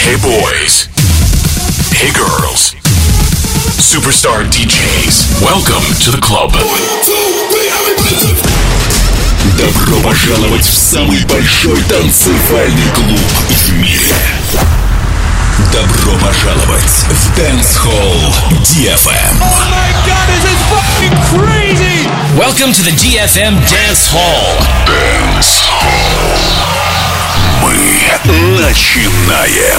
Hey boys. Hey girls. Superstar DJs. Welcome to the club. Добро пожаловать в самый большой танцевальный клуб в мире. Добро пожаловать в Dance Hall DFM. Oh my god, this is fucking crazy! Welcome to the DFM Dance Hall. Dance Hall. Мы начинаем.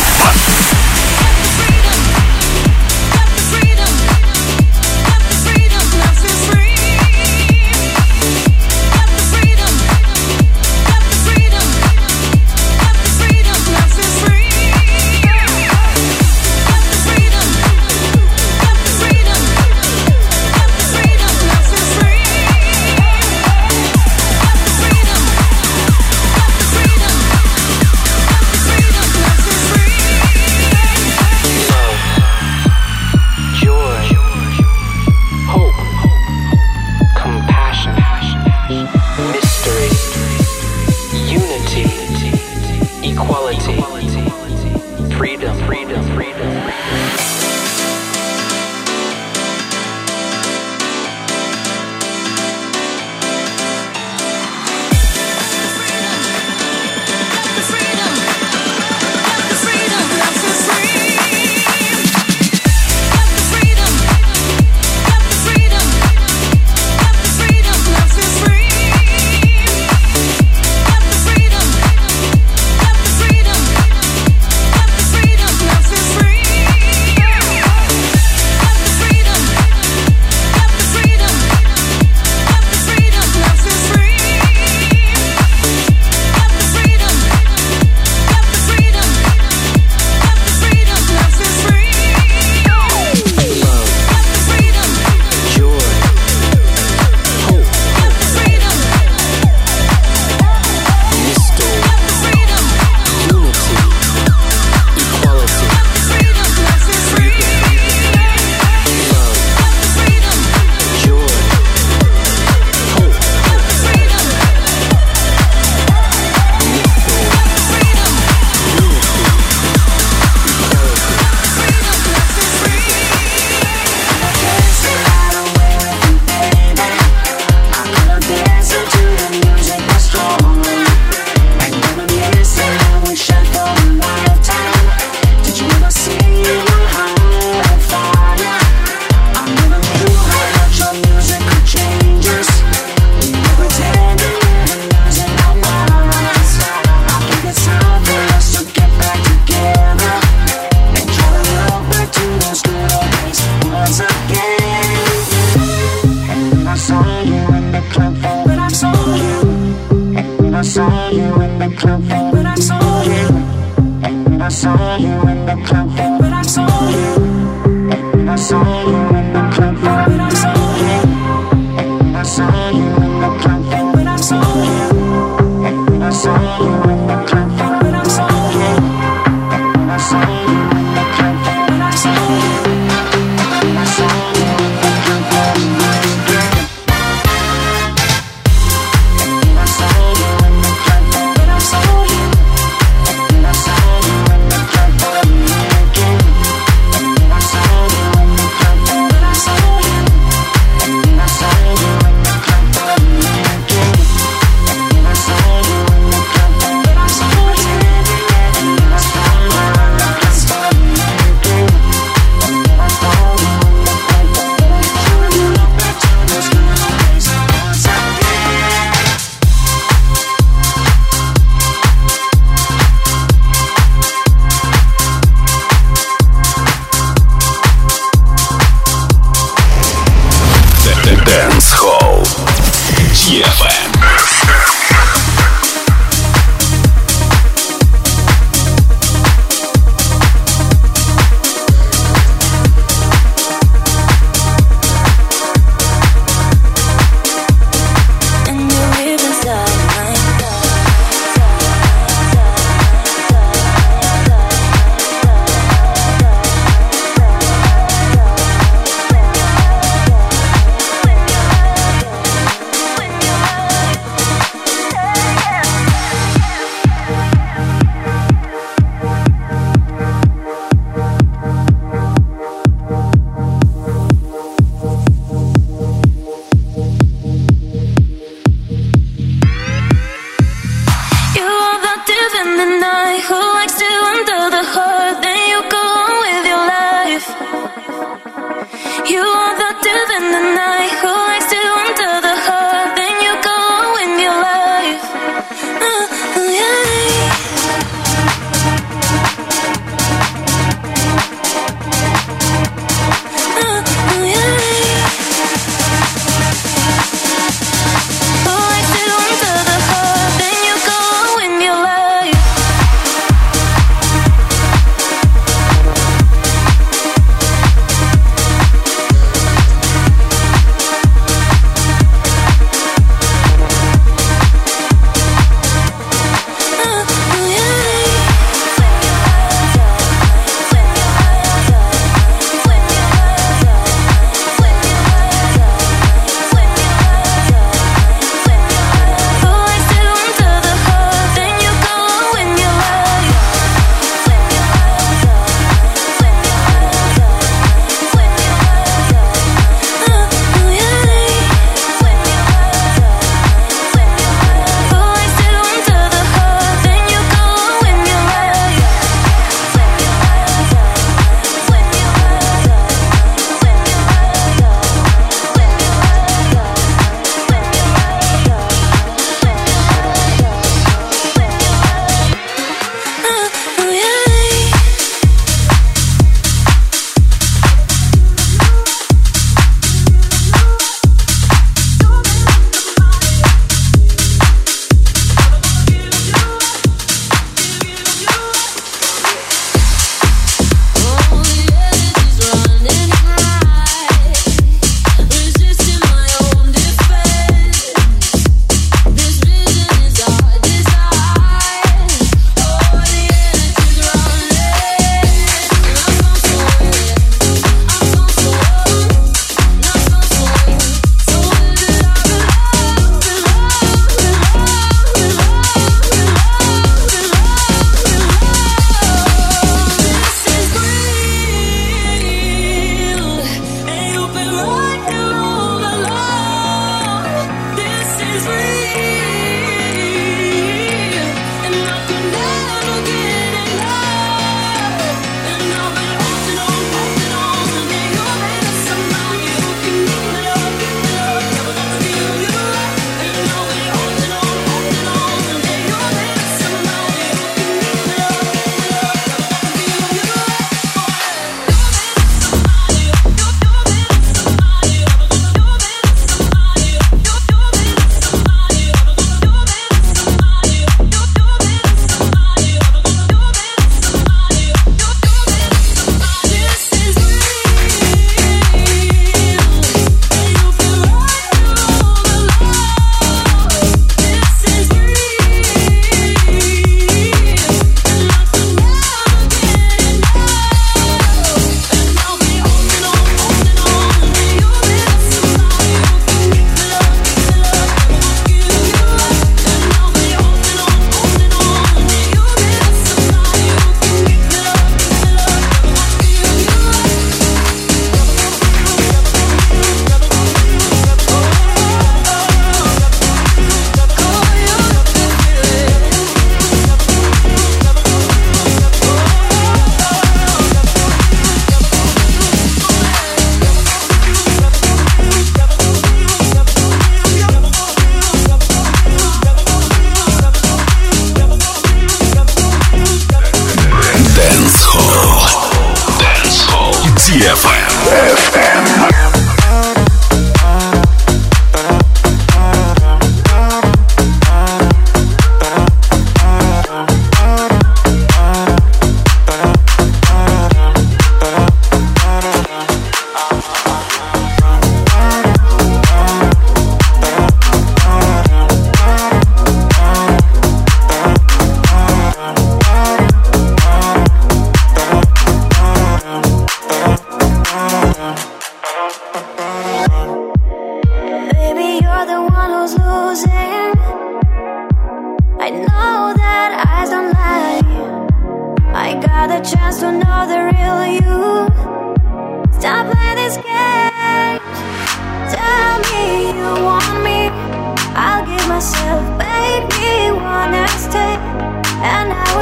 myself, baby, wanna stay, and I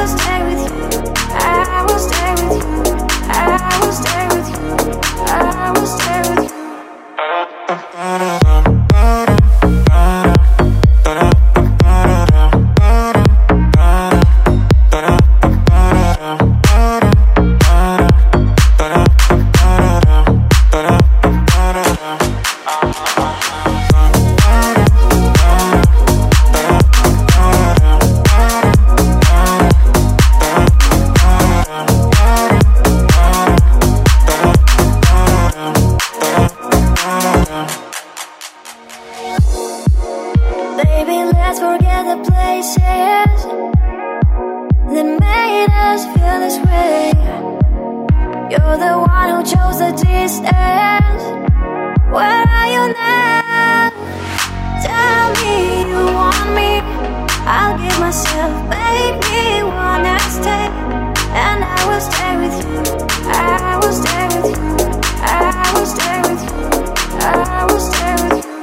this, feel this way. You're the one who chose the distance. Where are you now? Tell me you want me. I'll give myself, baby, one last stay. And I will stay with you. I will stay with you. I will stay with you. I will stay with you.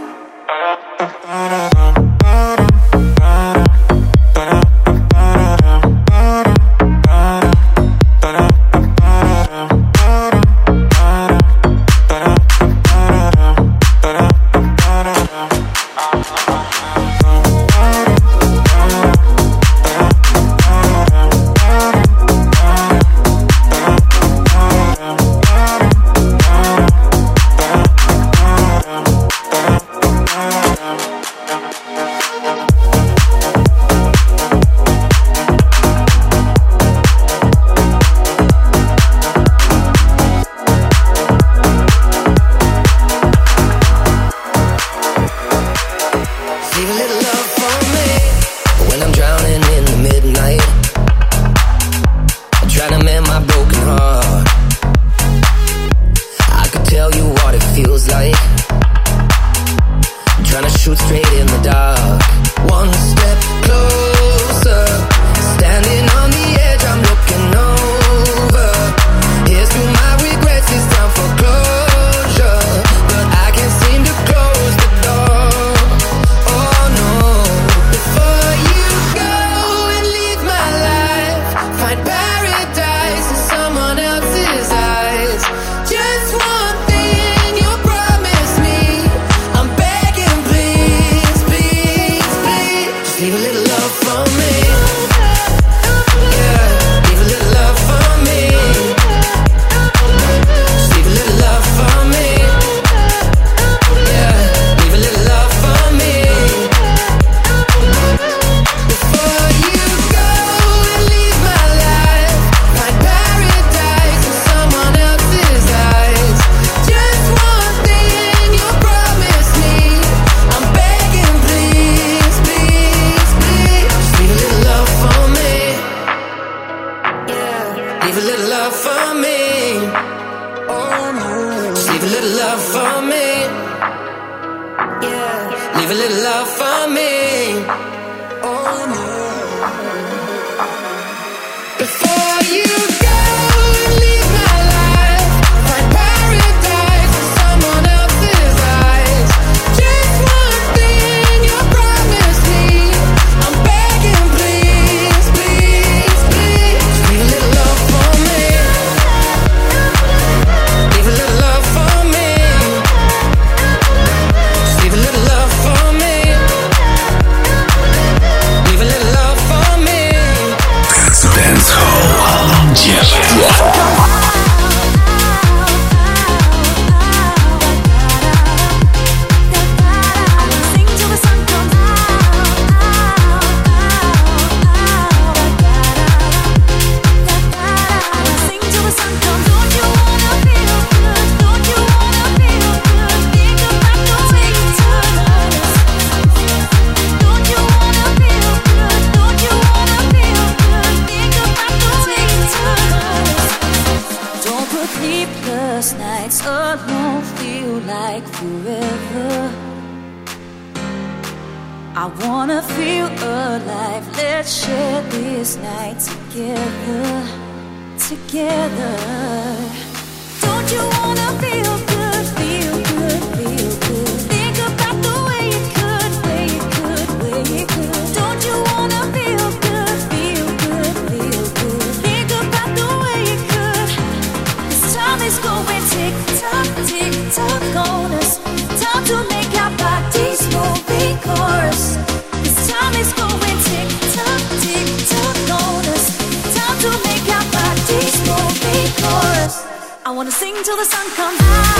I wanna sing till the sun comes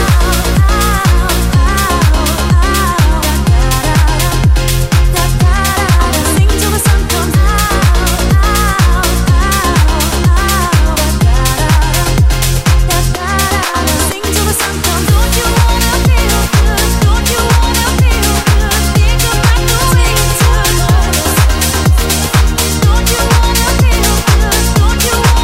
out. Sing till the sun comes out. Sing till the sun comes. Don't you wanna feel good? Don't you wanna feel good? Think about the way you turn on us. Don't you wanna feel good? Don't you wanna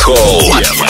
Hall.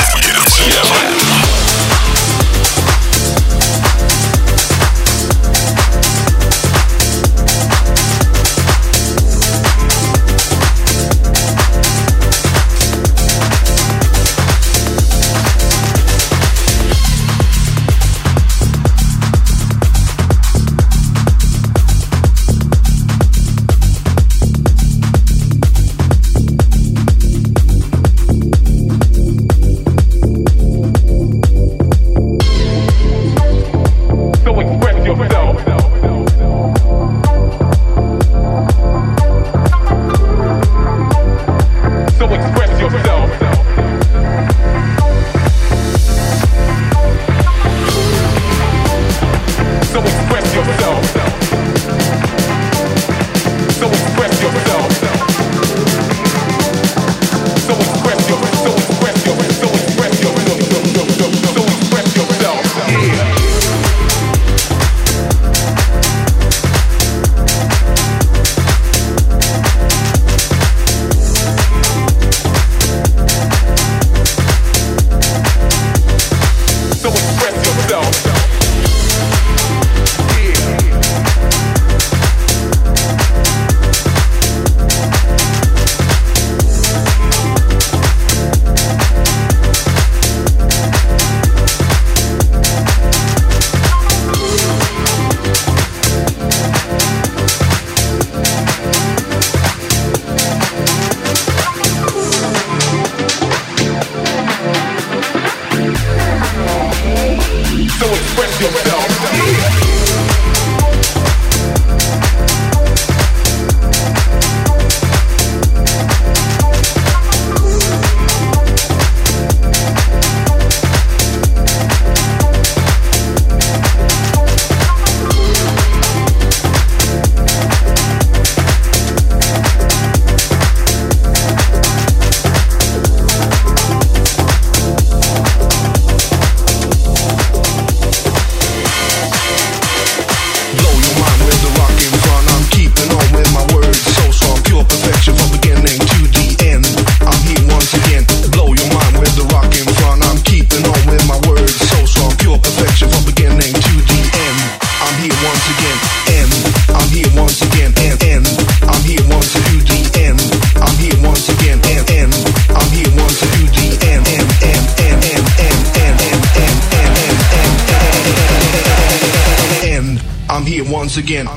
Once again.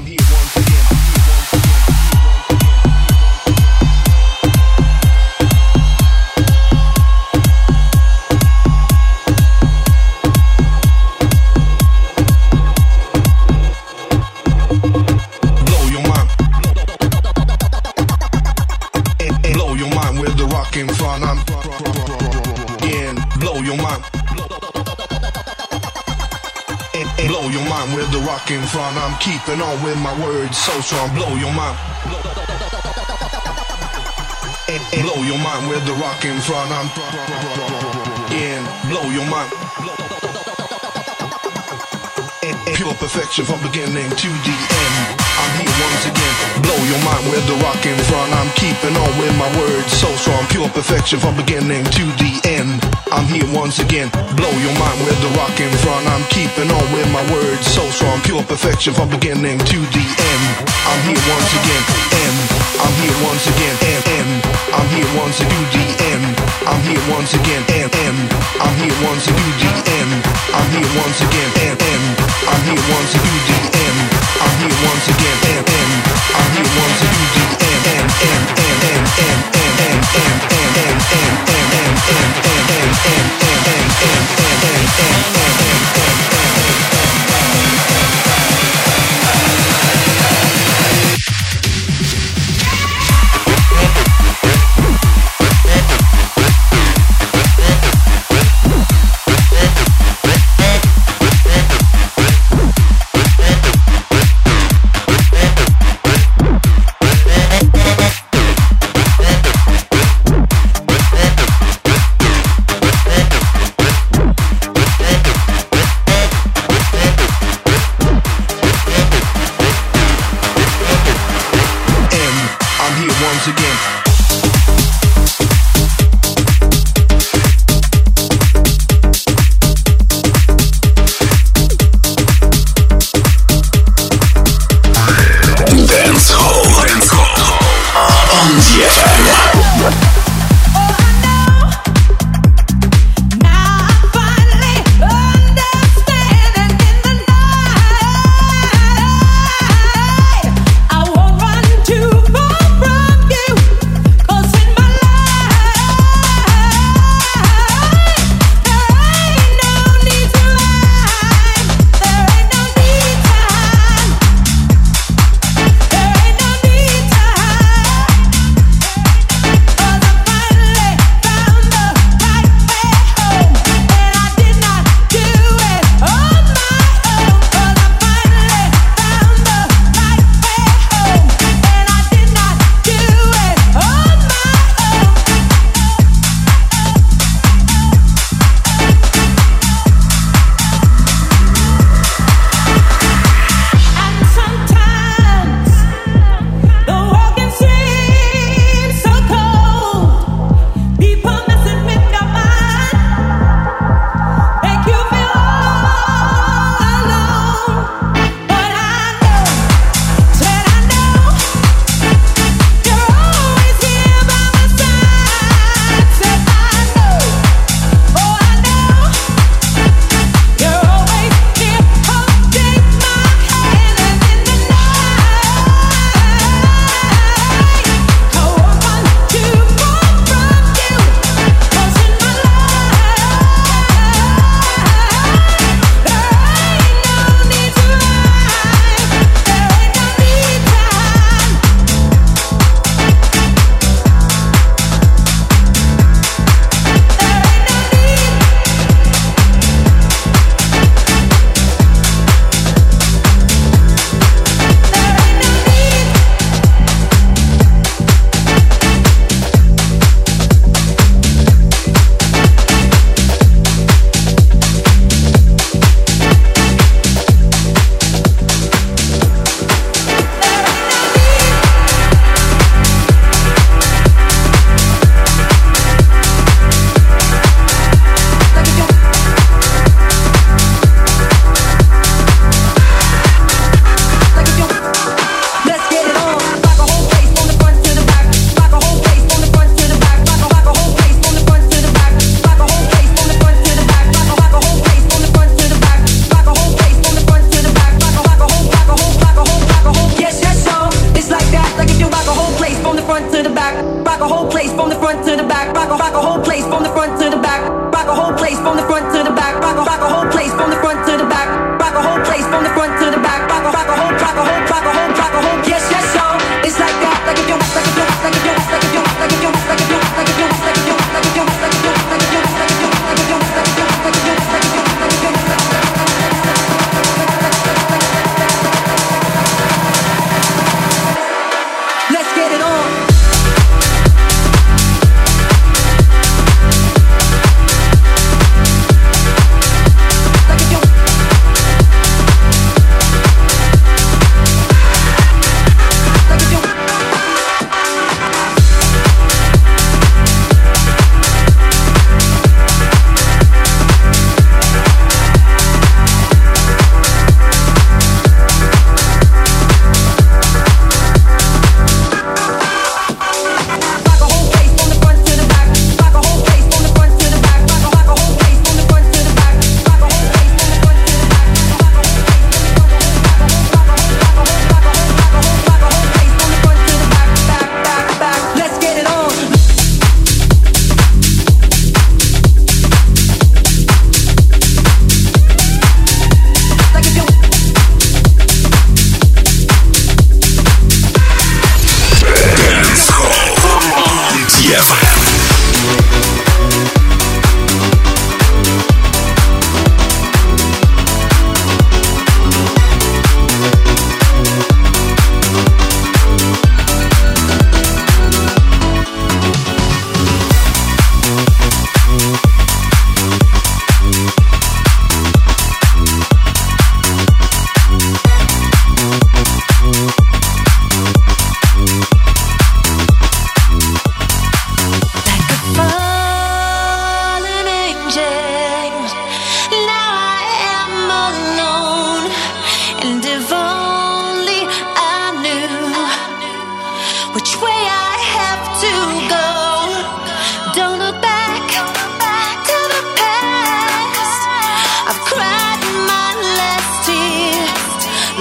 I'm keeping on with my words so strong, blow your mind. Blow your mind with the rock in front. I'm in, blow your mind. Pure perfection from beginning to the end. I'm here once again, blow your mind with the rock in front. I'm keeping on with my words so strong, pure perfection from beginning to the end. I'm here once again, blow your mind with the rock in front. I'm keeping on with my words so strong, pure perfection from beginning to the end. I'm here once again, and I'm here once again, and I'm here once to do the end. I'm here once again, and I'm here once to do the end. I'm here once again, and I'm here once to do the end. I'm here once again, and I'm here once to do the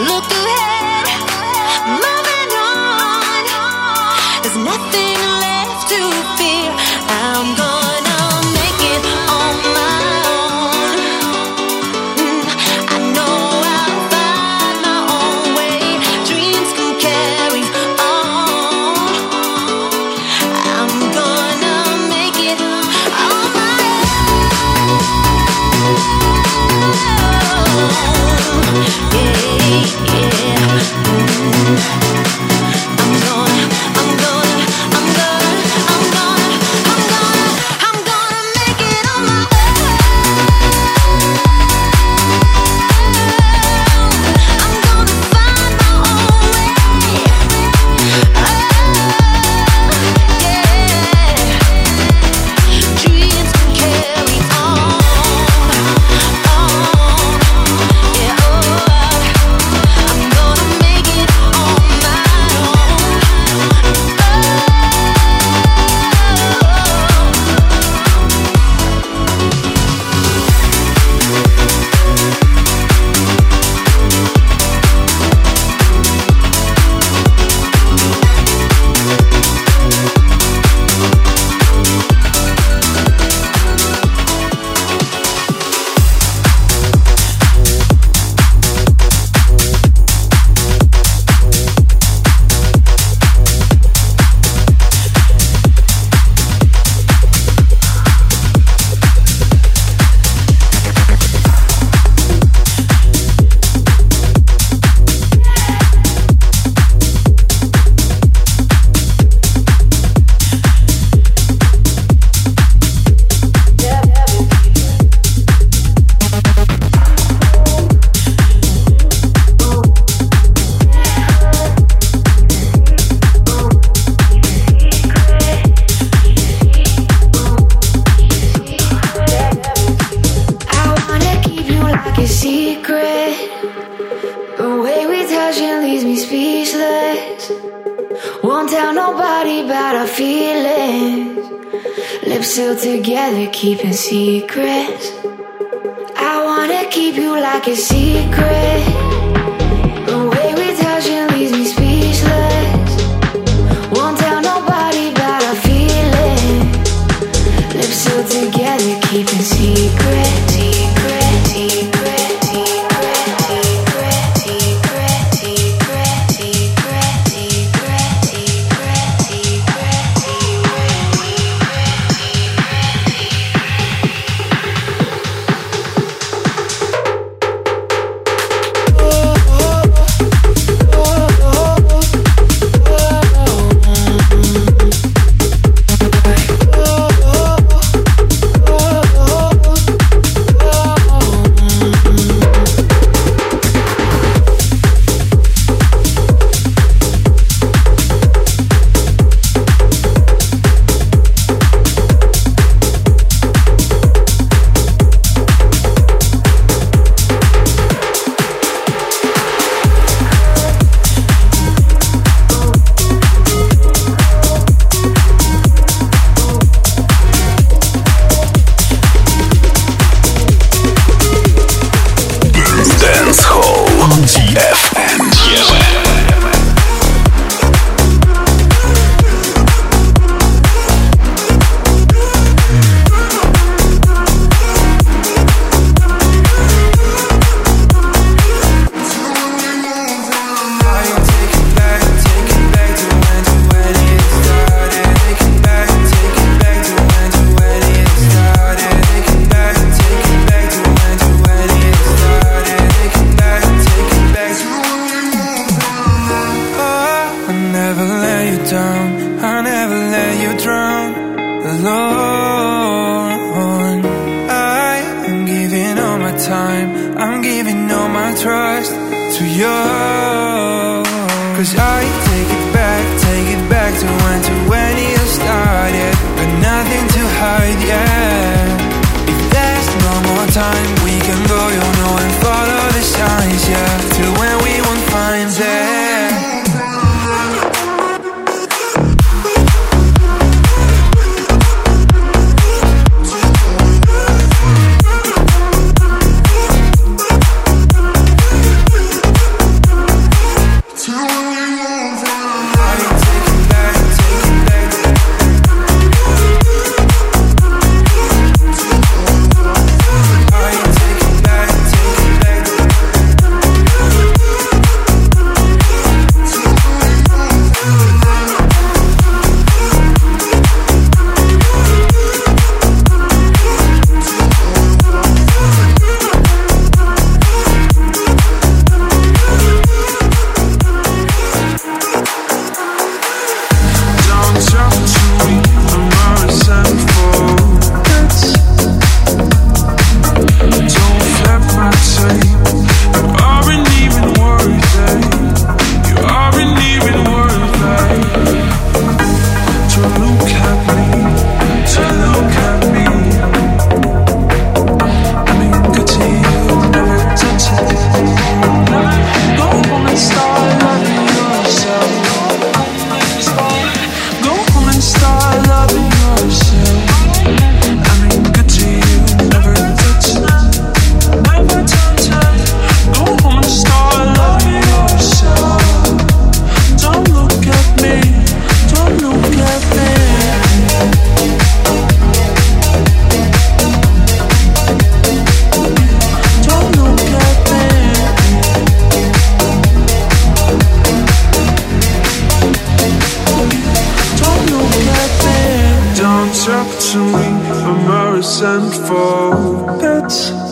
look ahead, moving on. There's nothing left to fear. I'm gonna make it on my own. I know I'll find my own way. Dreams can carry on. I'm gonna make it on my own. Together, keeping secrets. I wanna keep you like a secret. The way we touching leaves me speechless. Won't tell nobody about our feelings. Lips sealed together, keeping secret. Secret, secret, secret, secret, secret, secret, secret, secret, secret, forget.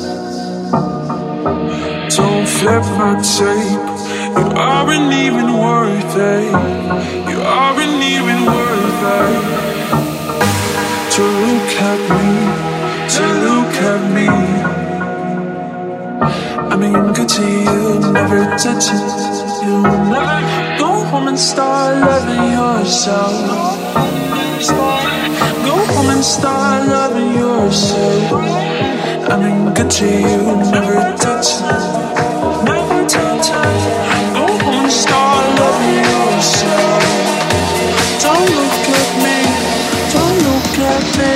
Don't flip my tape. You aren't even worth it. You aren't even worth it. To look at me, to look at me. I mean, good to you, never touch it. You never go home and start loving yourself. Go home and start loving yourself. I mean, good to you, never touch it. Never touch it. Go home and start loving yourself. Don't look at me, don't look at me.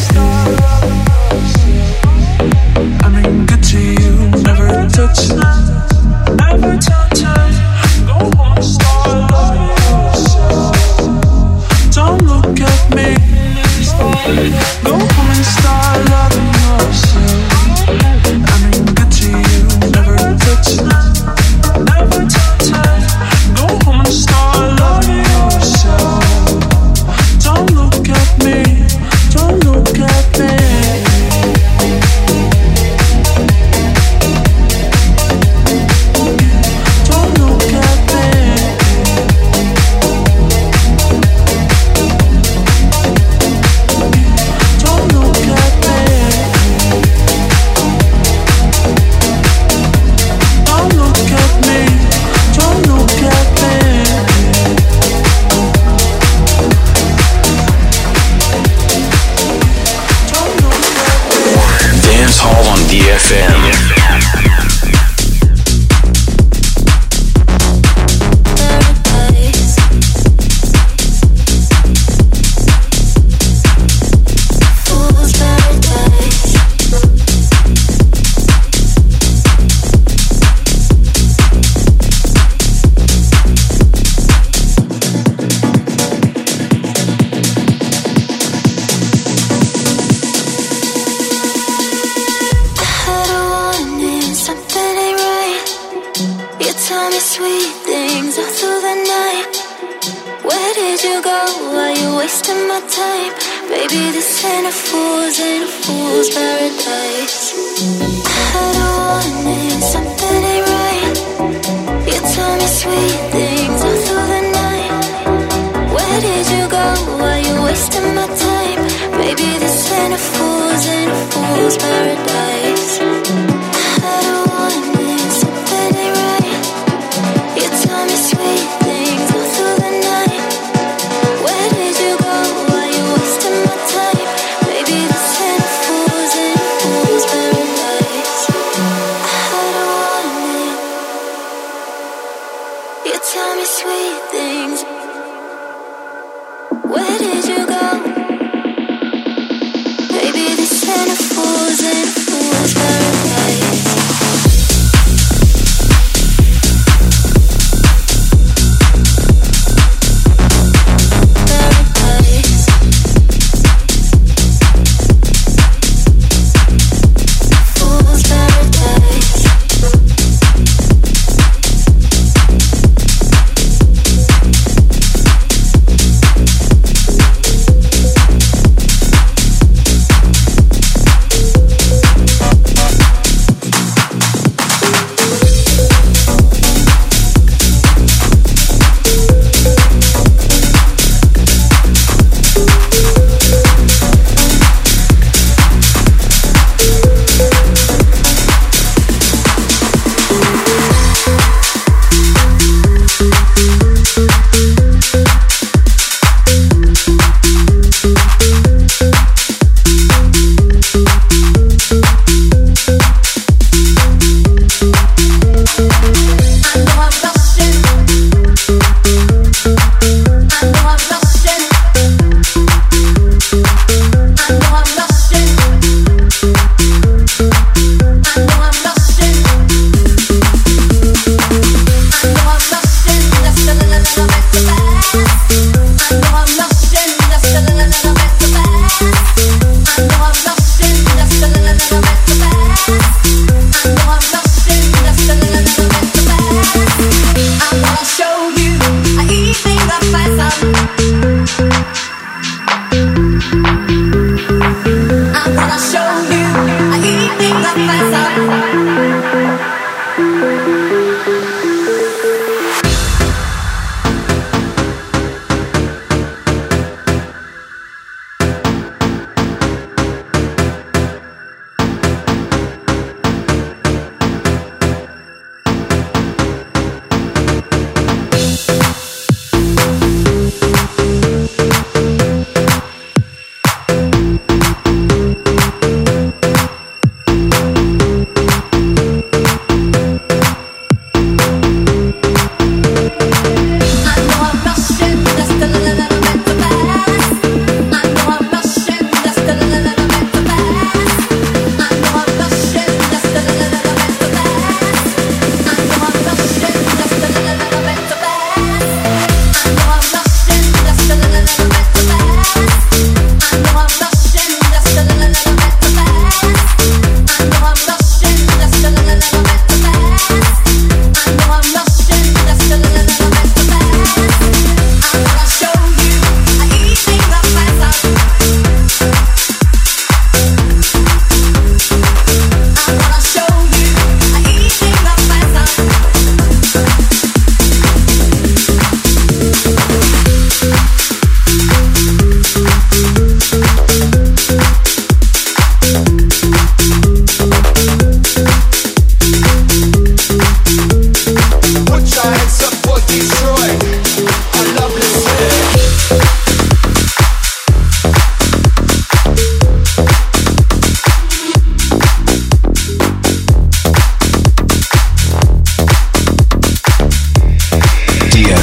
I mean, good to you, never touch it. Never touch it. Go home and start loving yourself. Don't look at me. Go home and start loving yourself. I mean, good to you, never touch it. Never touch it. Go home and start loving yourself. Don't look at me. Don't look at me. Don't look at me. Don't look at me. Don't look at me. Don't look at me. Don't look at me. Dance Hall on DFM. Paradise. Fool's paradise. I had a warning, something ain't right. You tell me sweet things all through the night. Where did you go? Are you wasting my time? Baby, this ain't a fool's paradise. I had a warning, something ain't right. You tell me sweet things all through the night. Where did you go? Are you wasting my time? Baby, this ain't a fool's paradise. I had a warning, something ain't right. You tell me sweet things all through the night. Where did you go? Are you wasting my time? Baby, this ain't a fool's paradise. I had a warning. You tell me sweet things. Where did you go? Baby, this ain't a fool's paradise. Paradise. Fool's paradise.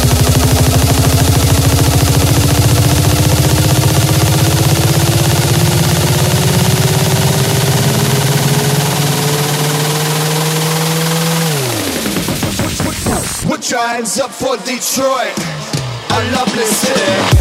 Put your hands up for Detroit, a lovely city.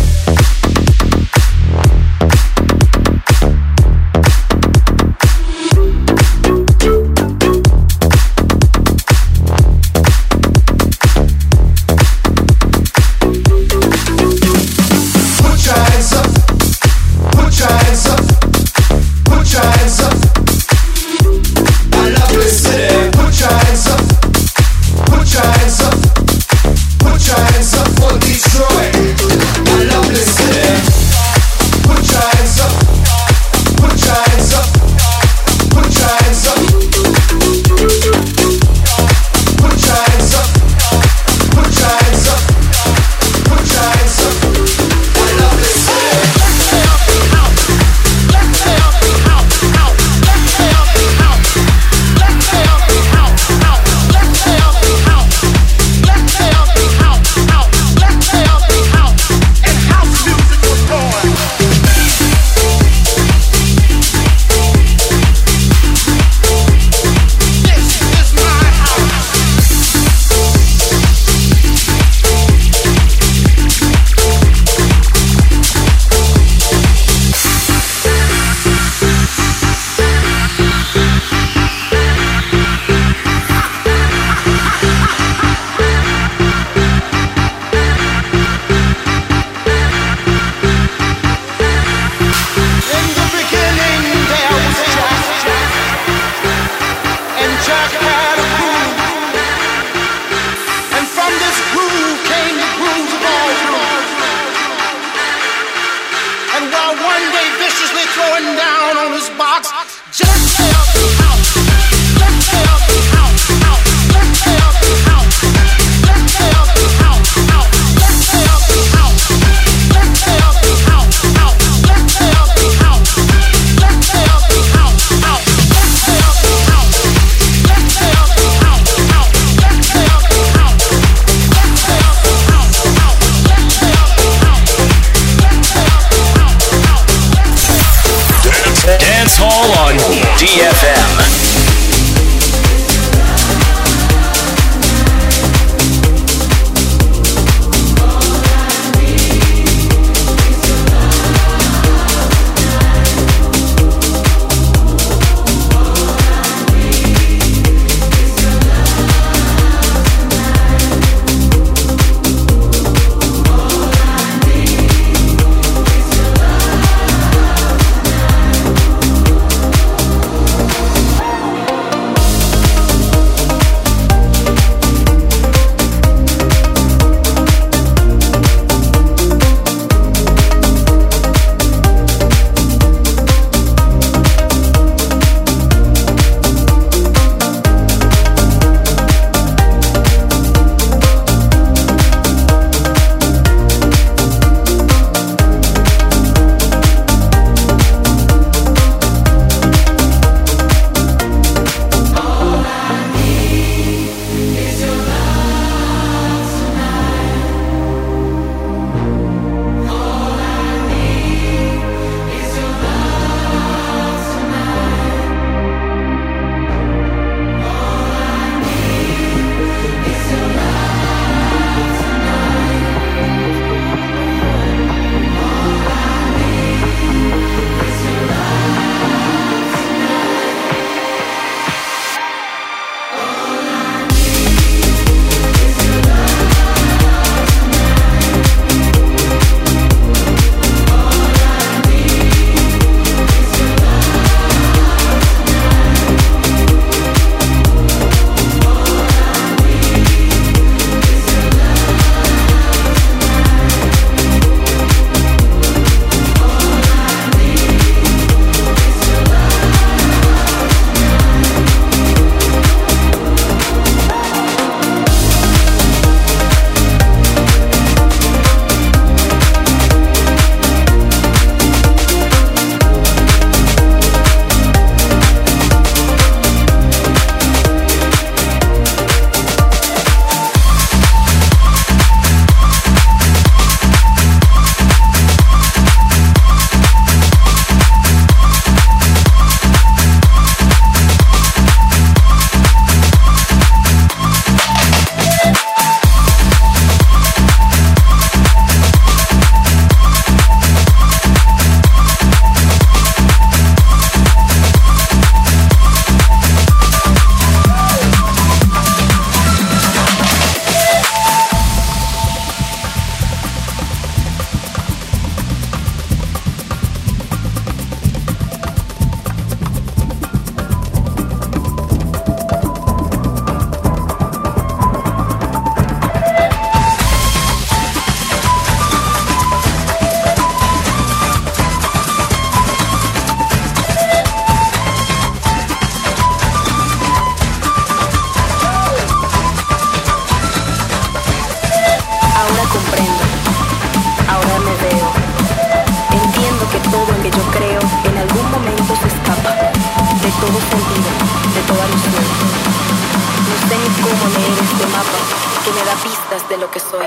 cómo leer este mapa que me da pistas de lo que soy.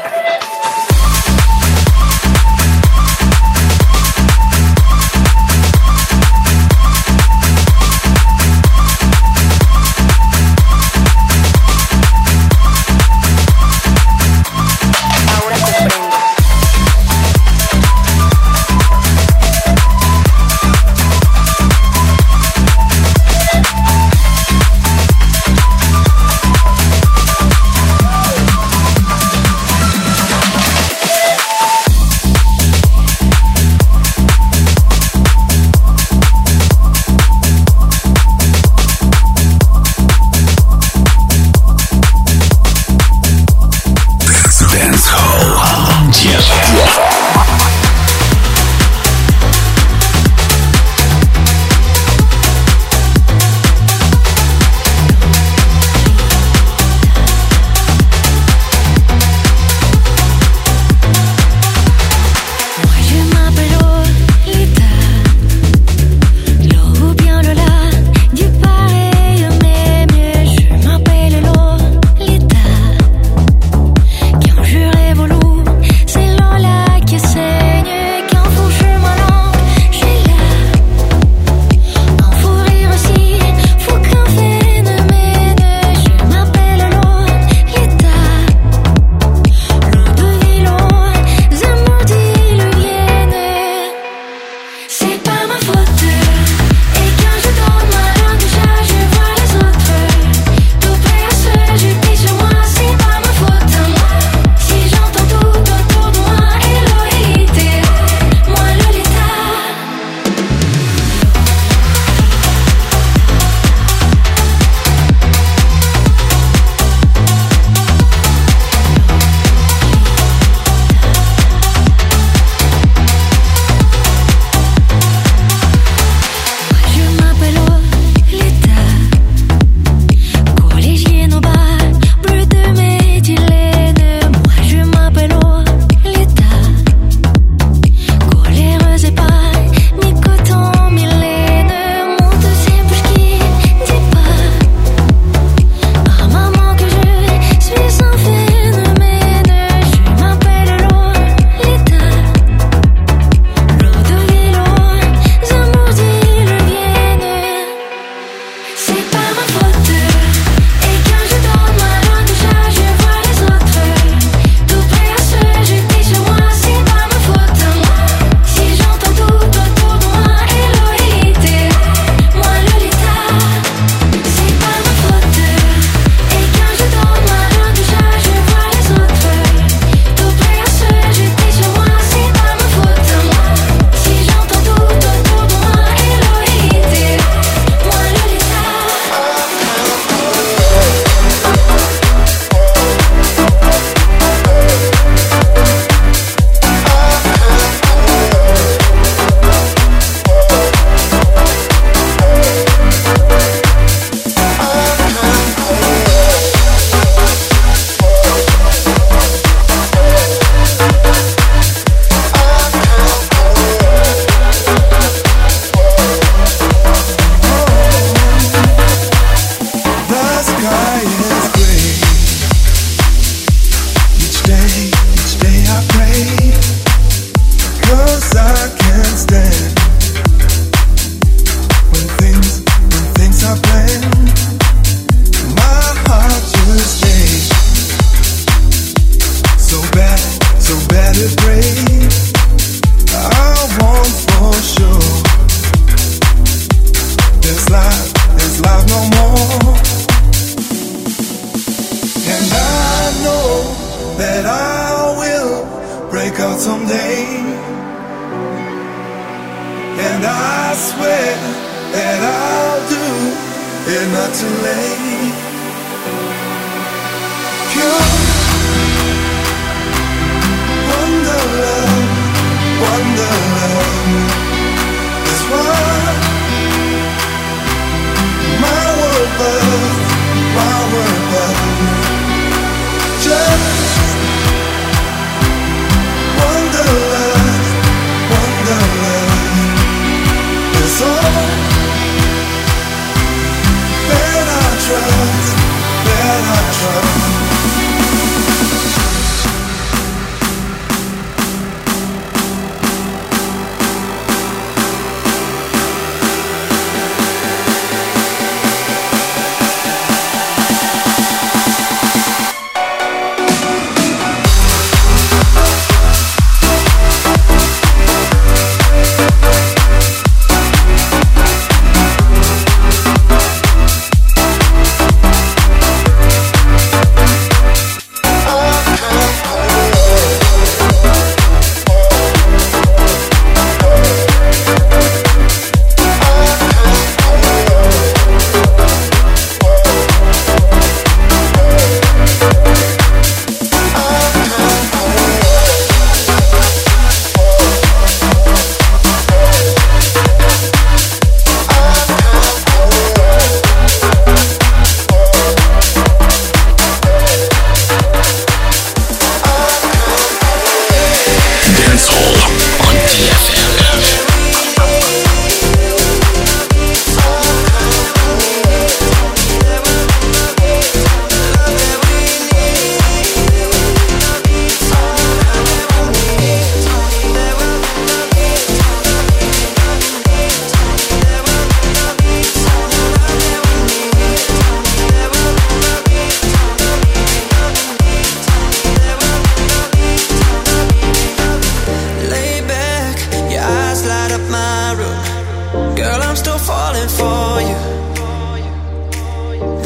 That I trust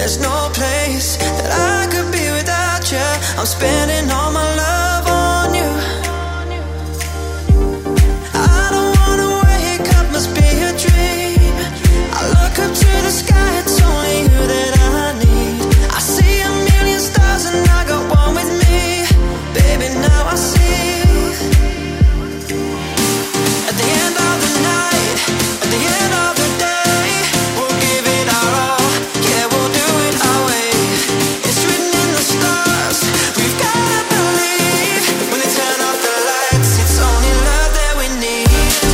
There's no place that I could be without you. I'm spending all my love on you. I don't wanna wake up, must be a dream. I look up to the sky, it's only you that I need. I see a million stars and I got one with me. Baby, now I see. At the end of the night, at the end of the day, we'll give it our all. Yeah, we'll do it our way. It's written in the stars. We've gotta believe. When they turn off the lights, it's only love that we need.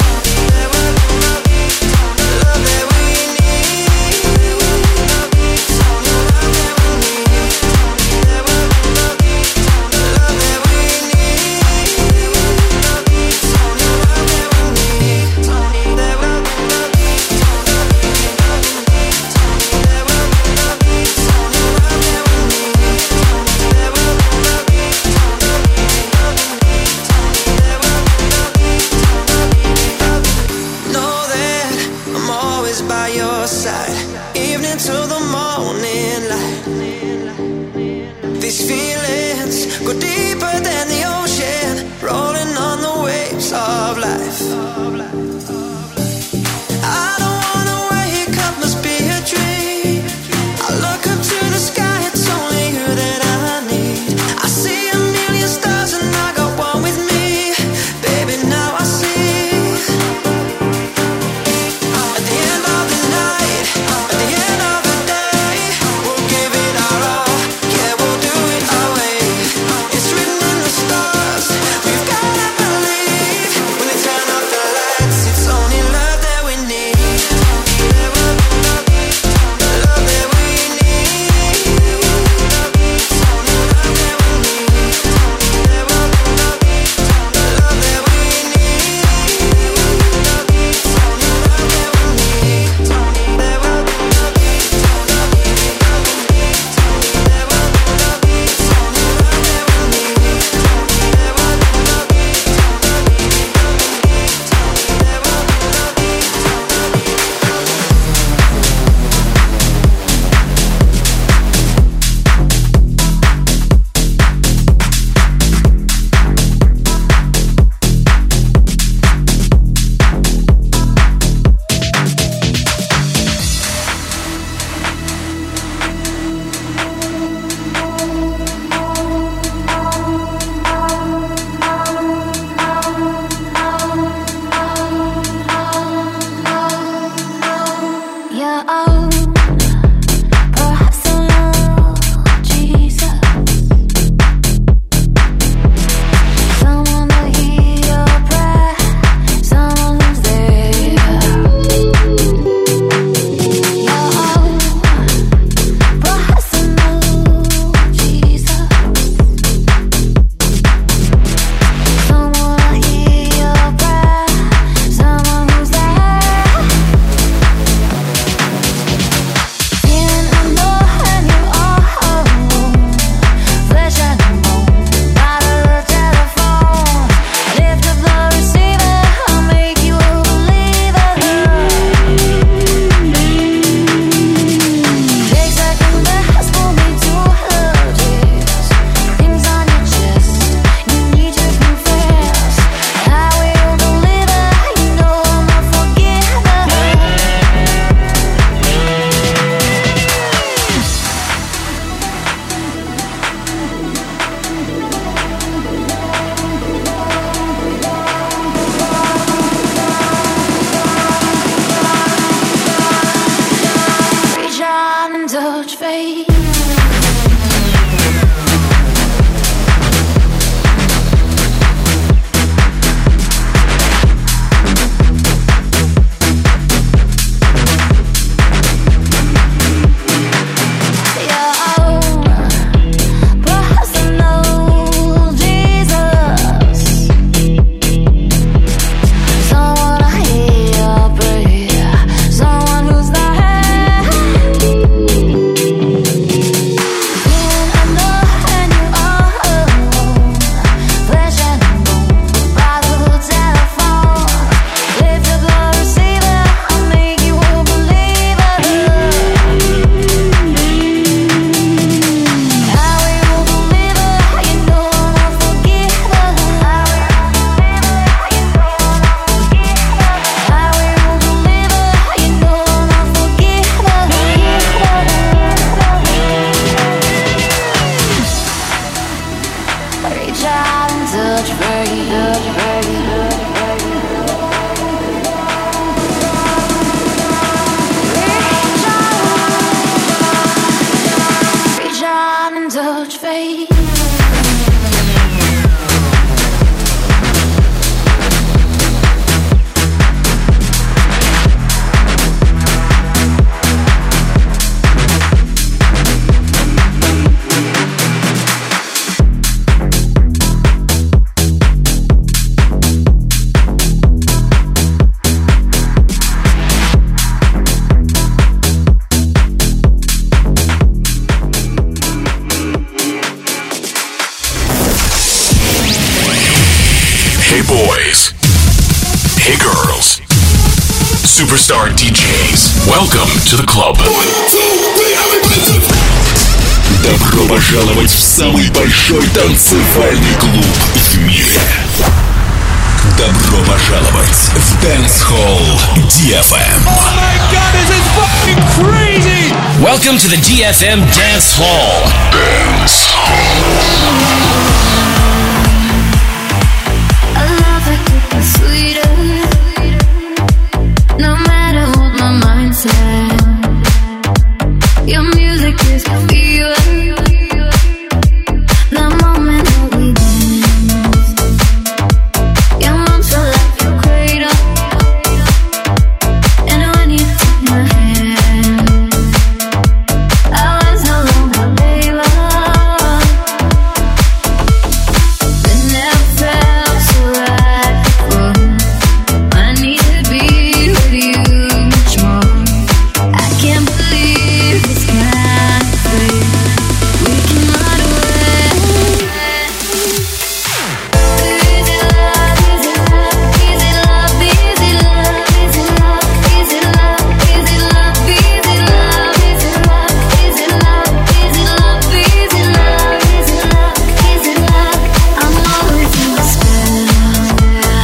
Love that we need. It's only love that we need. Love that we need. It's only love that we need. Know that I'm always by your side, evening to the morning light. These feelings go deeper than the ocean, rolling on the waves of life. I don't wanna wake up, must be a dream. I look up to the sky, it's only you that I need. I see a million stars and I got one with me. Baby, now I see. At the end of the night, at the end of the day, we'll give it our all. Yeah, we'll do it our way. It's written in the stars. We've gotta believe. When they turn off the lights, it's only love that we need. Love that we need. Love that we need. It's only love that we need. Love that we need. It's only love that we Yeah, perhaps I know Jesus. Someone to hear your prayer, someone who's there. Yeah, perhaps I know Jesus. Someone to hear your prayer, someone who's there. Feeling unknown and you are flesh and bone. Dial the telephone, lift up the receiver. I'll make you a believer. Take second best, pull me to her tears. Things on your chest, you need to confess. I will deliver, you know I'm a forgiver. Reach out and touch faith. Perhaps I know Jesus. Someone to hear your prayer, someone who's there. touch fade. Superstar DJs. Welcome to the club. Добро пожаловать в самый большой танцевальный клуб в мире. Добро пожаловать в Dance Hall DFM. Oh my God, this is fucking crazy! Welcome to the DFM Dance Hall. Dance Hall. No matter what my mind says, your music is the fever. The moment that we dance, your arms feel like your cradle. And when you took my hand, I was no longer baby. It never felt so right before. I need to be with you much more. I can't believe this kind of thing we can run away. Is it love? Is it love? Is it love? Is it love? Is it love? Is it love? Is it love? Is it love? Is it love? Is it love? Is it love? Is it love? Is it love? Is it love? I'm always in the spell.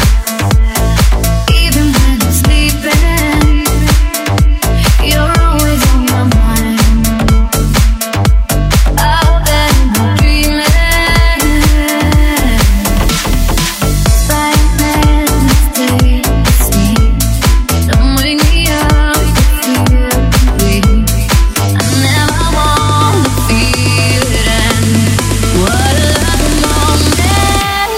Even when I'm sleeping, you're always on my mind. Out there in my dreaming, by stay the same. Don't wake me up to feel complete. I never want to feel it end. What a lovely moment.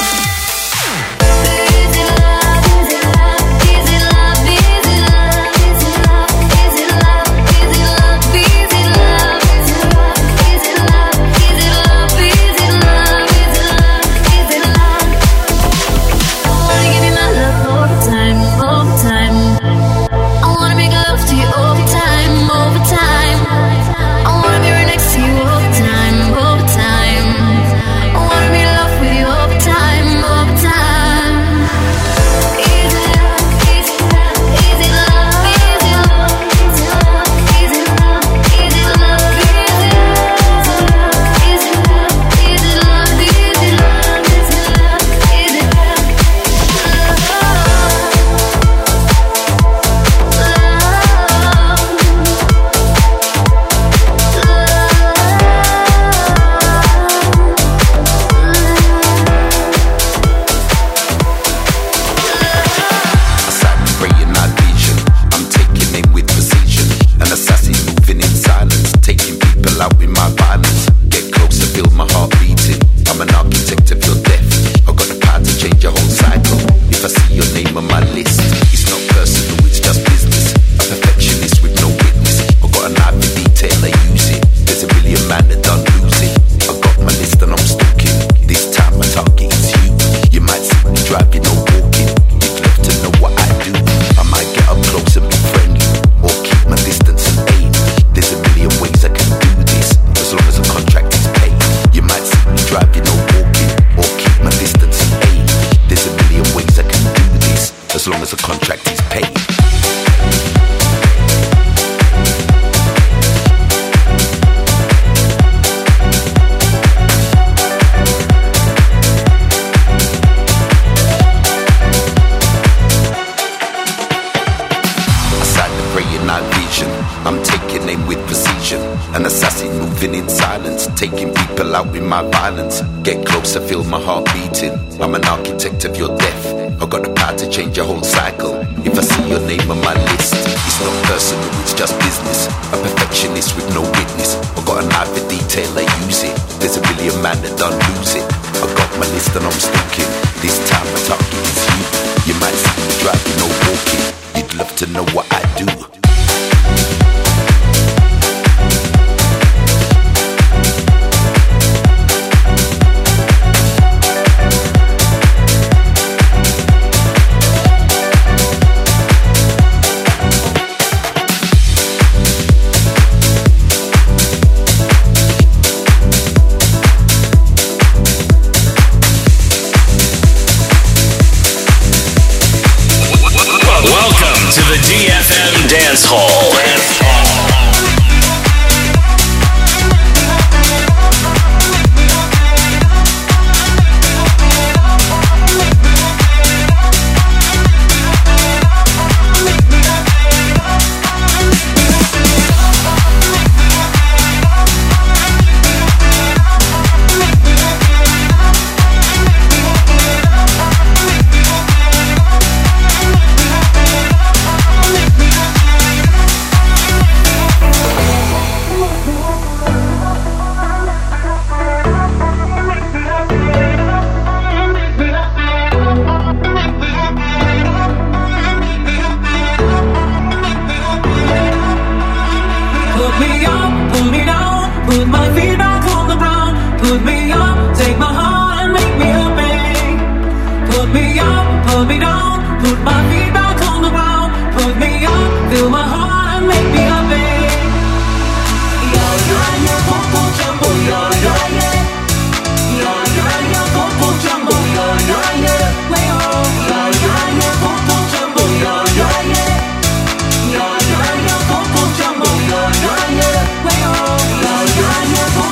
Is it love? Is it love? Is it love? Is it love? Is it love? Is it love? Is it love? Is it love? Is it love? Is it love? Is it love? Is it love? Is it love? Is it love? I wanna give you my love all the time, all the time. I wanna make love to you all the time, all the time. I wanna be right next to you all the time, all the time. I wanna be in love with you all the time, all the time. Is it love? Is it love? Is it love? Is it love? Is it love? Is it love? Is it love? Is it love? Is it love? Is it love? Is it love? Is it love? Is it love? Is it love? Aside and praying night vision, I'm taking aim with precision. An assassin moving in silence, taking people out with my violence. Get closer, feel my heart beating. I'm an architect of your death. I got the power to change your whole cycle. If I see your name on my list, it's not personal, it's just business. A perfectionist with no witness. I got an eye for detail, I use it. There's a million man that don't lose it. I got my list and I'm stalking. This time my target is you. You might see me driving or walking. You'd love to know what I do. I might get up close and be friendly, or keep my distance and aim. There's a million ways I can do this, as long as the contract is paid. You might see me driving or walking, or keep my distance and aim. There's a million ways I can do this, as long as the contract is paid. Aside the praying night vision, I'm taking aim with precision. An assassin moving in silence, taking people out with my violence. Get closer, feel my heart beating. I'm an architect of your death. I got the power to change your whole cycle. If I see your name on my list, it's not personal, it's just business. A perfectionist with no witness. I got an eye for detail. till they use it. There's a million man that don't lose it. I got my list and I'm stalking. This time my target is you. You might see me driving or walking. You'd love to know what I do. To the DFM Dance Hall. Way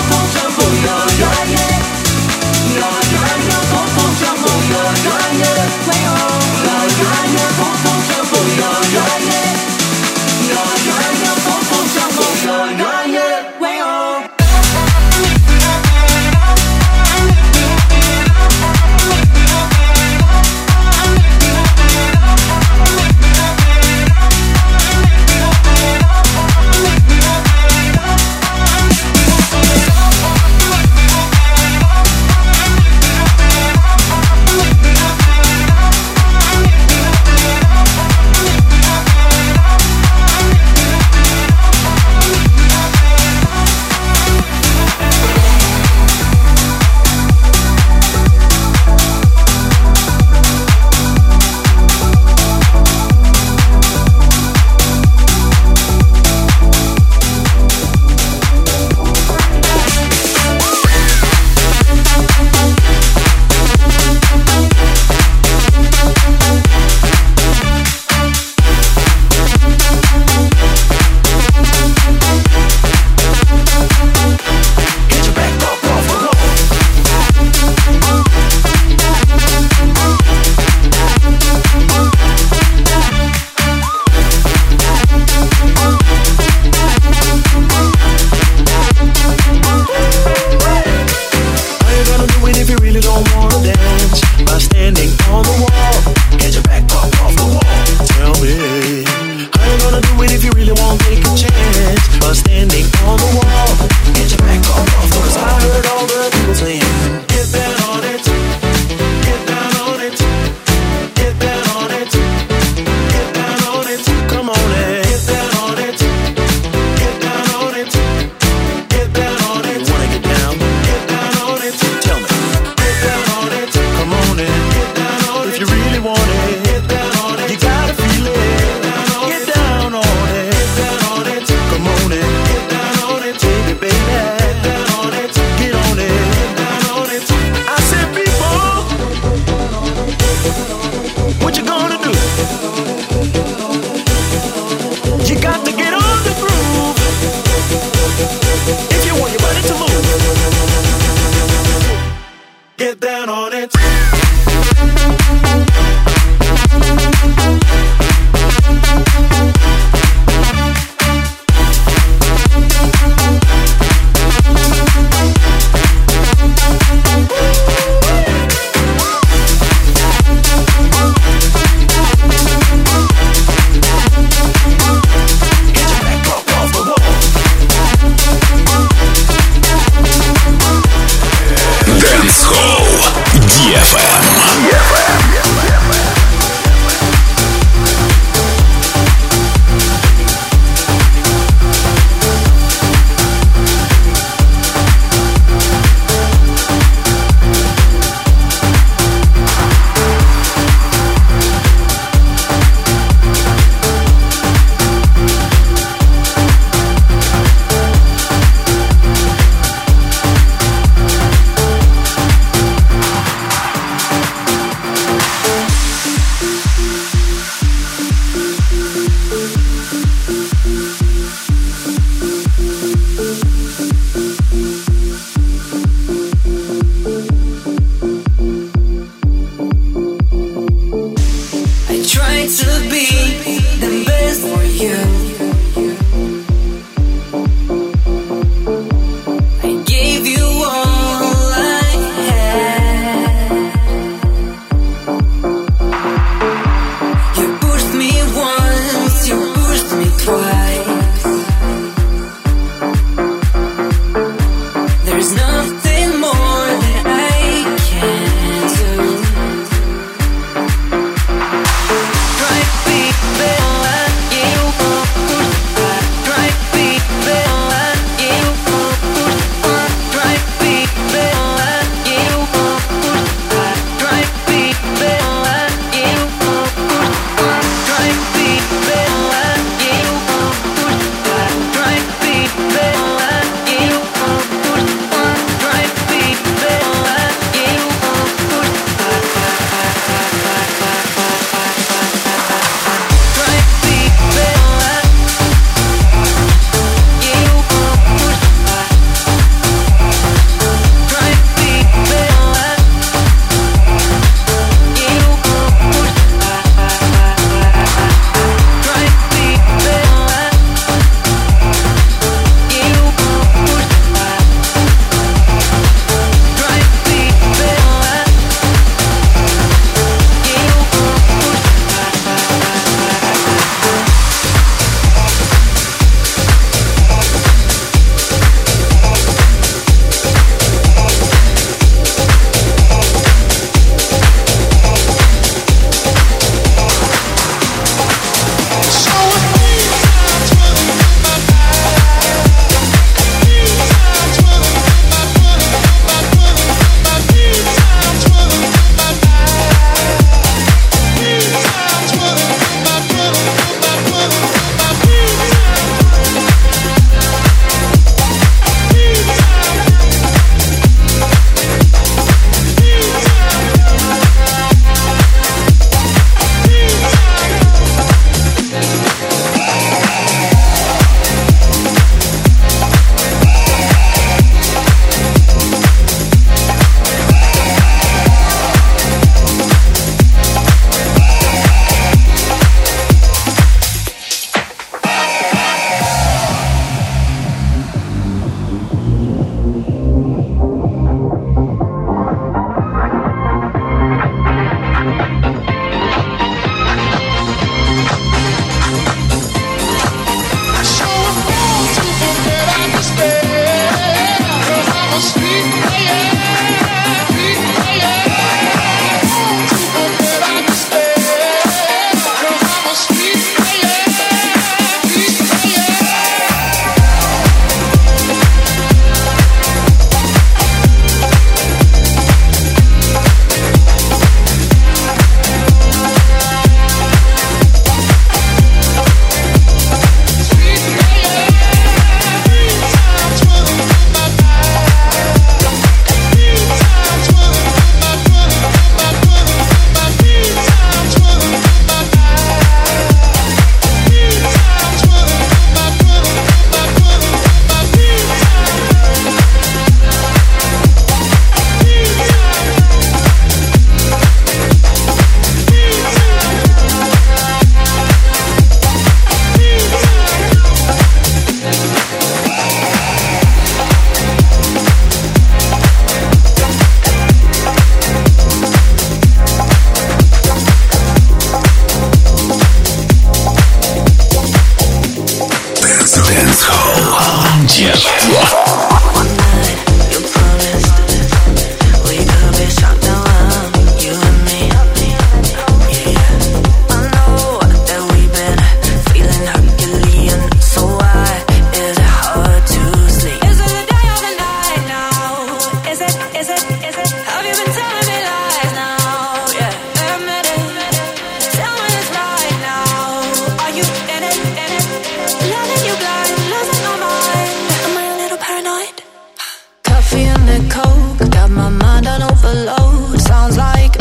the coke, got my mind on overload. Sounds like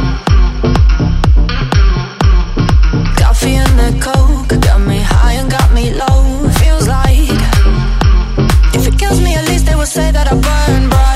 coffee and the coke, got me high and got me low. Feels like if it kills me, at least they will say that I burn bright.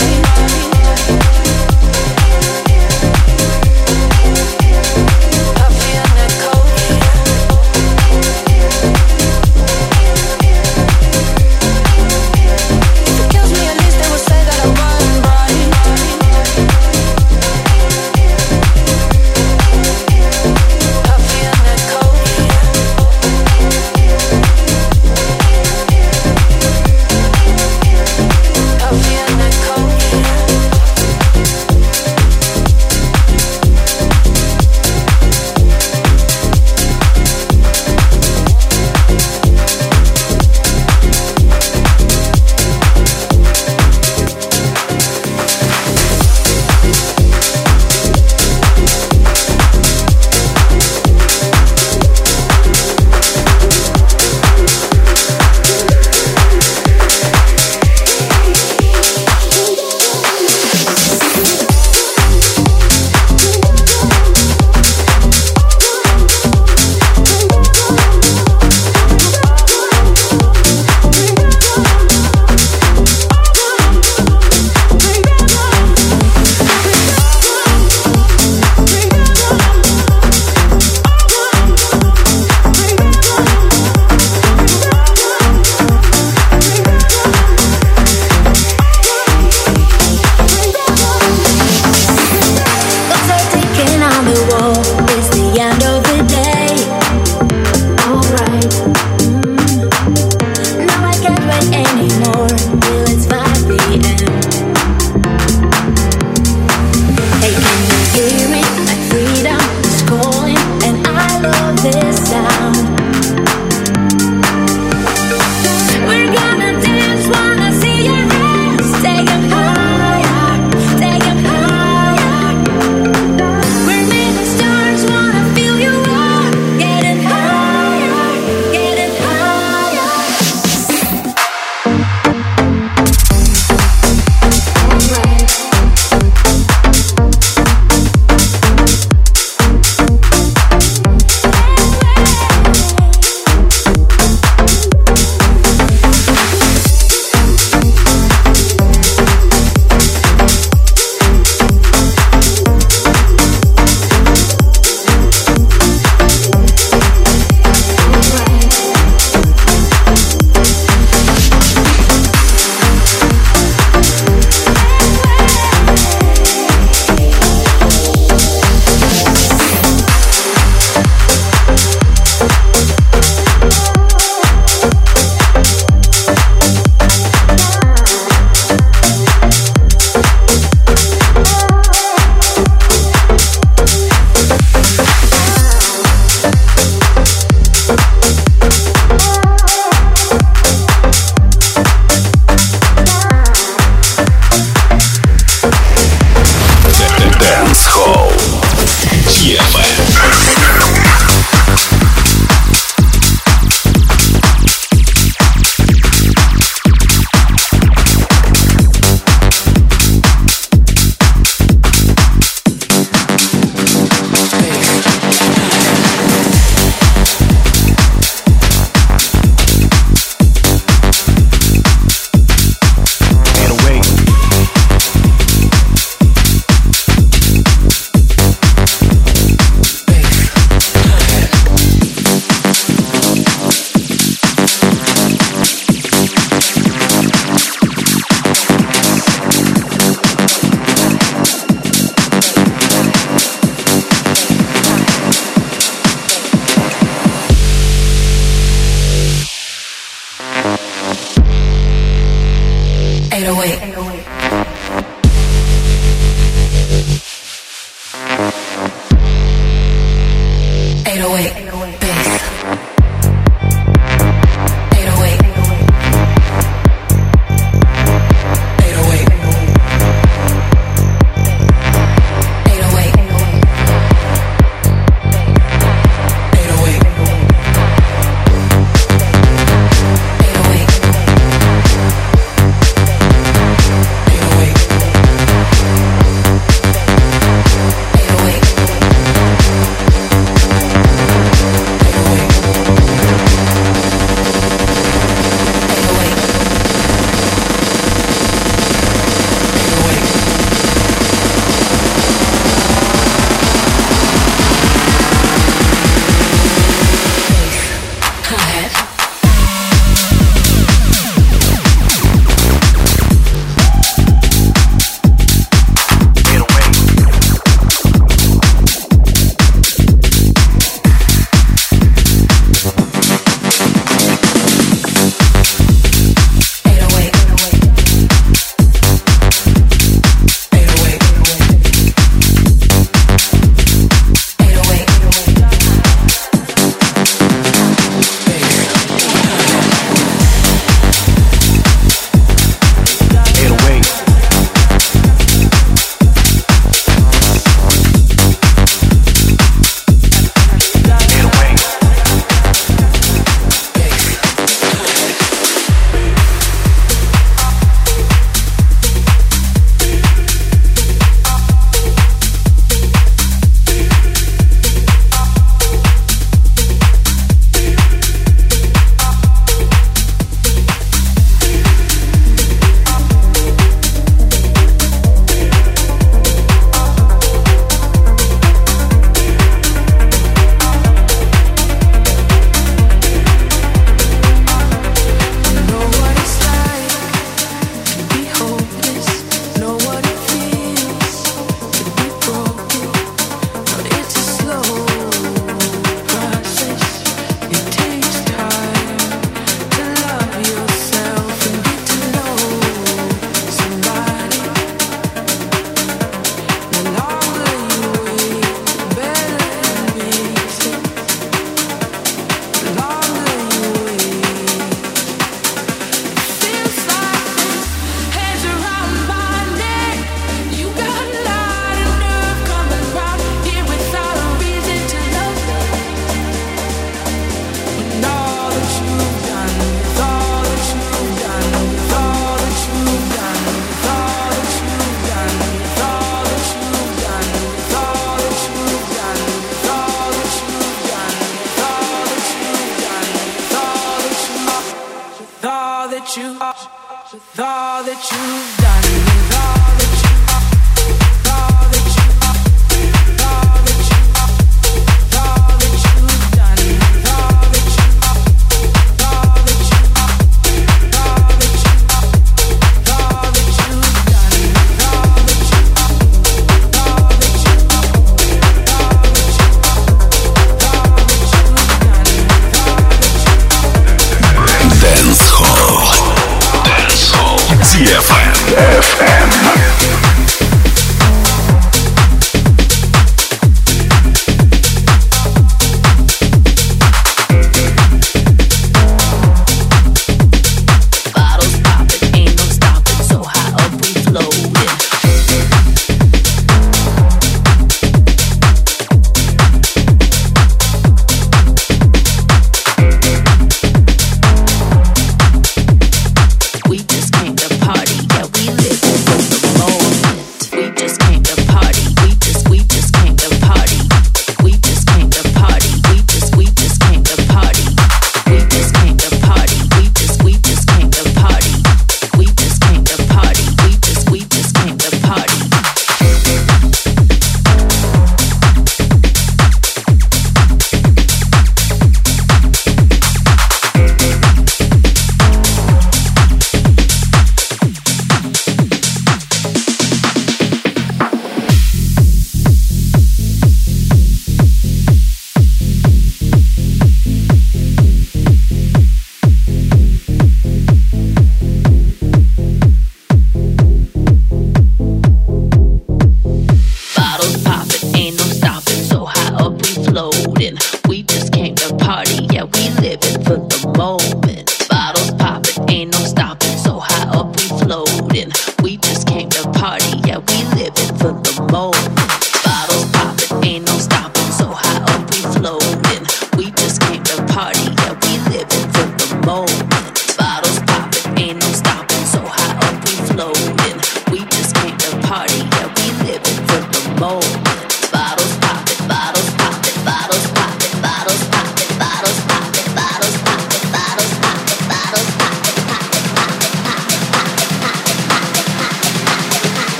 away.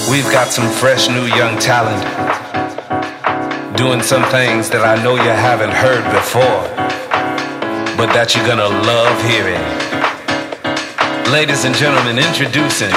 We've got some fresh new young talent doing some things that I know you haven't heard before, but that you're gonna love hearing. Ladies and gentlemen, introducing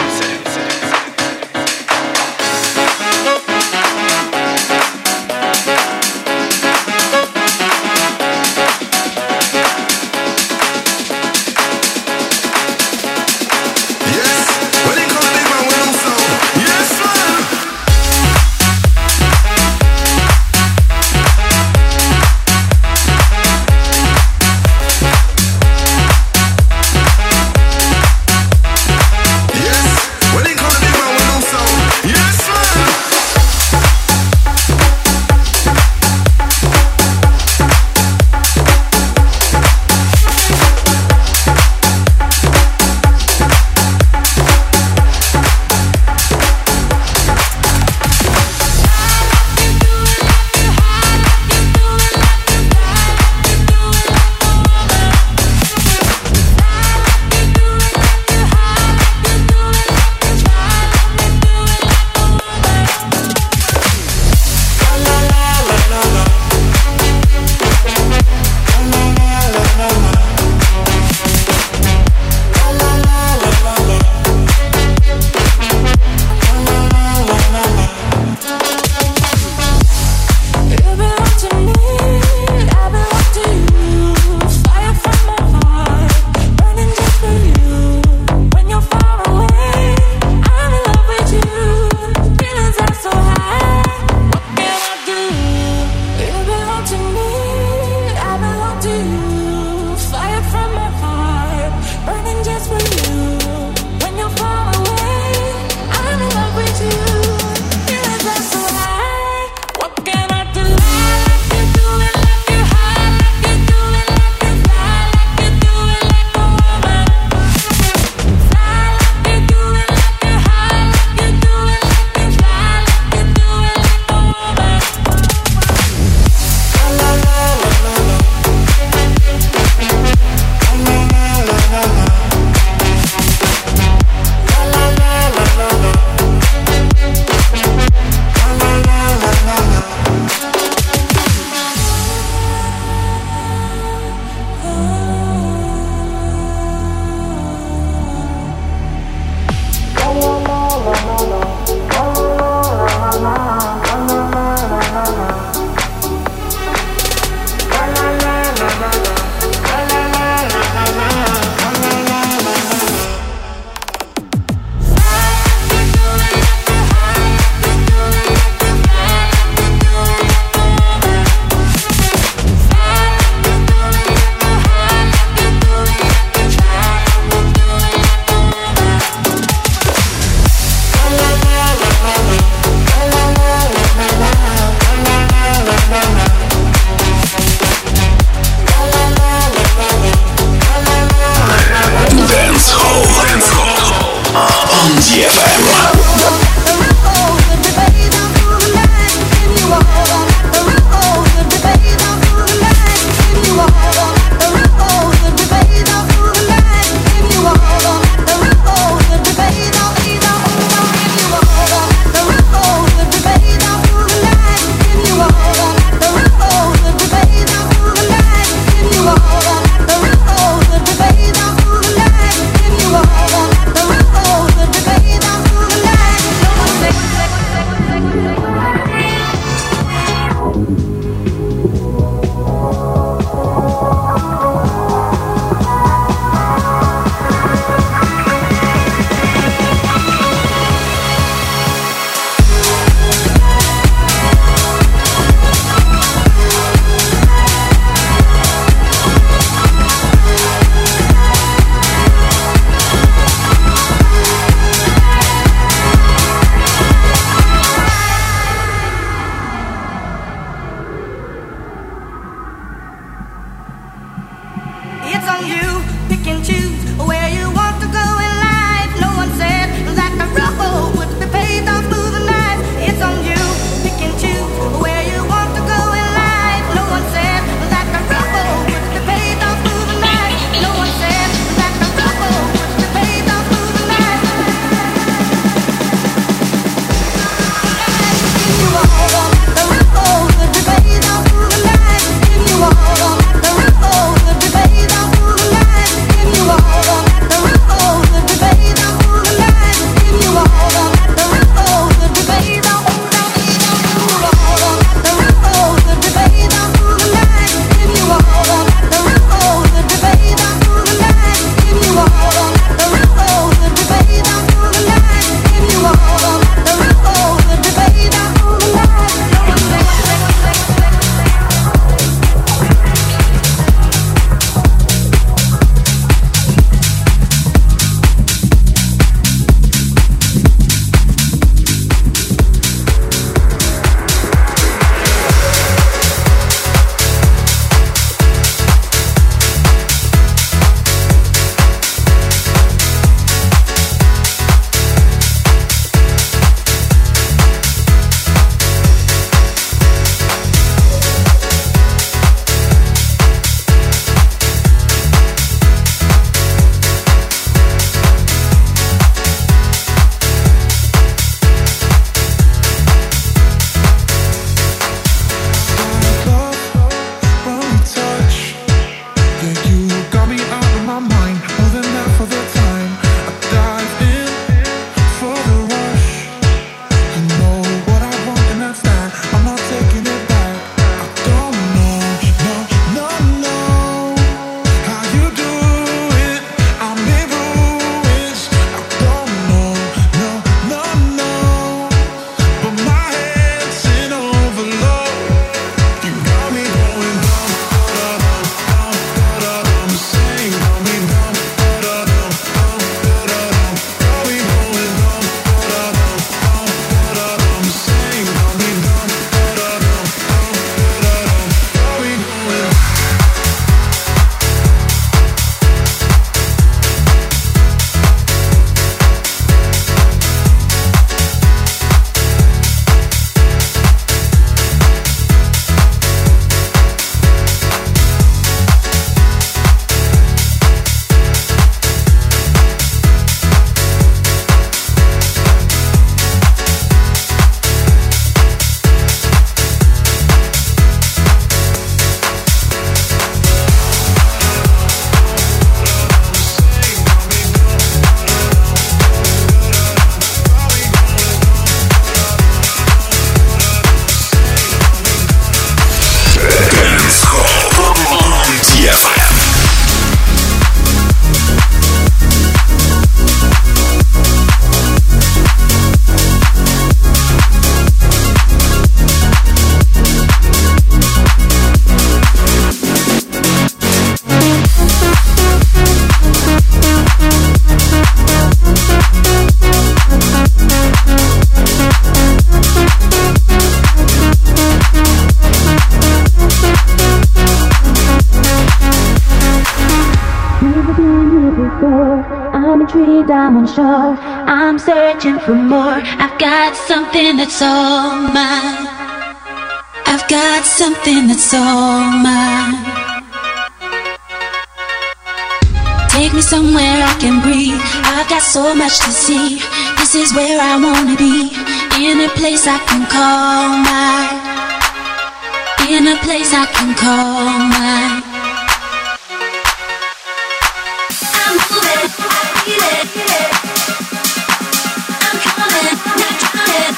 tree, diamond shore. I'm searching for more. I've got something that's all mine. I've got something that's all mine. Take me somewhere I can breathe. I've got so much to see. This is where I wanna be. In a place I can call mine. In a place I can call mine. I'm moving, I feel it. I'm coming, not drowning.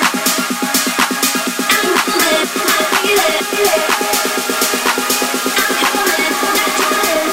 I'm moving, I feel it. I'm coming, not drowning.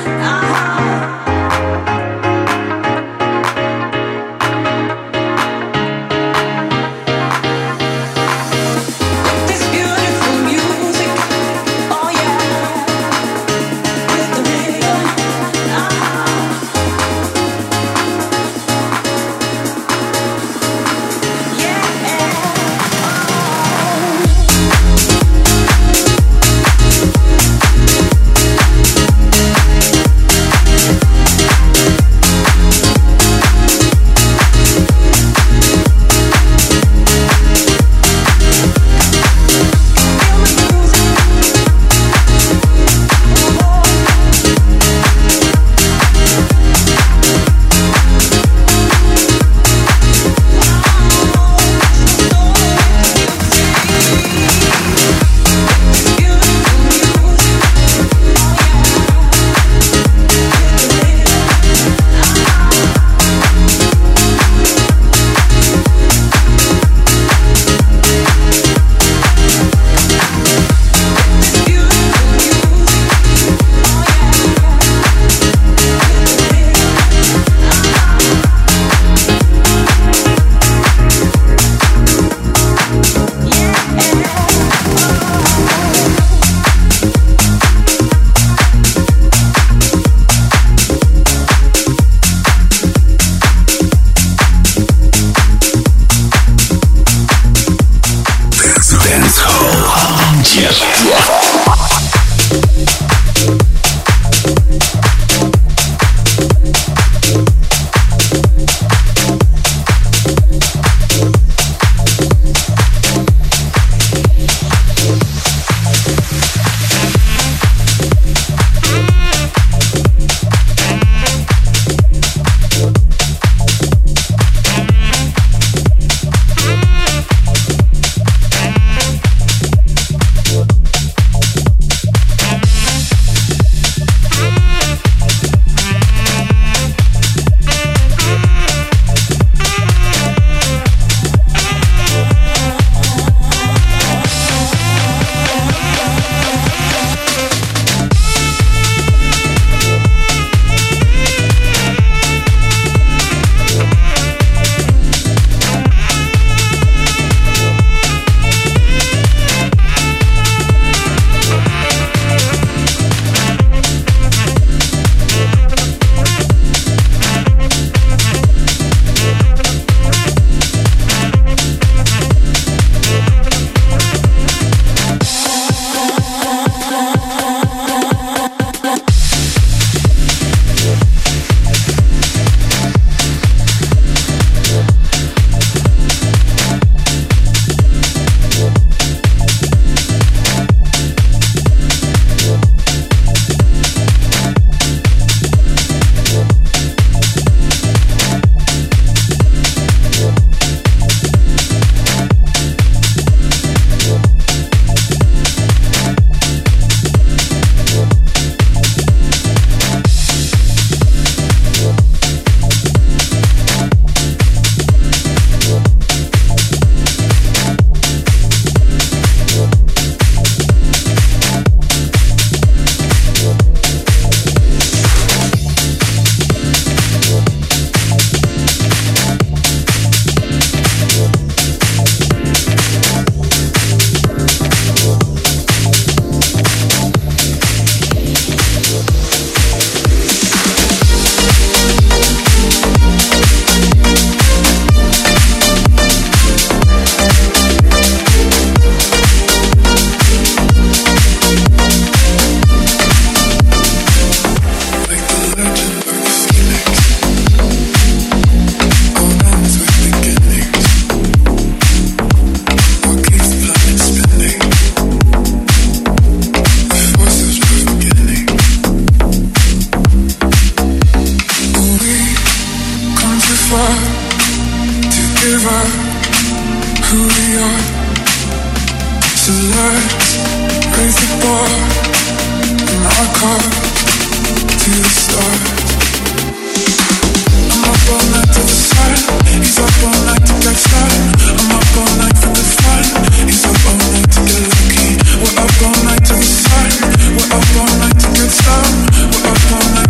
We're up all night to get some. We're up all night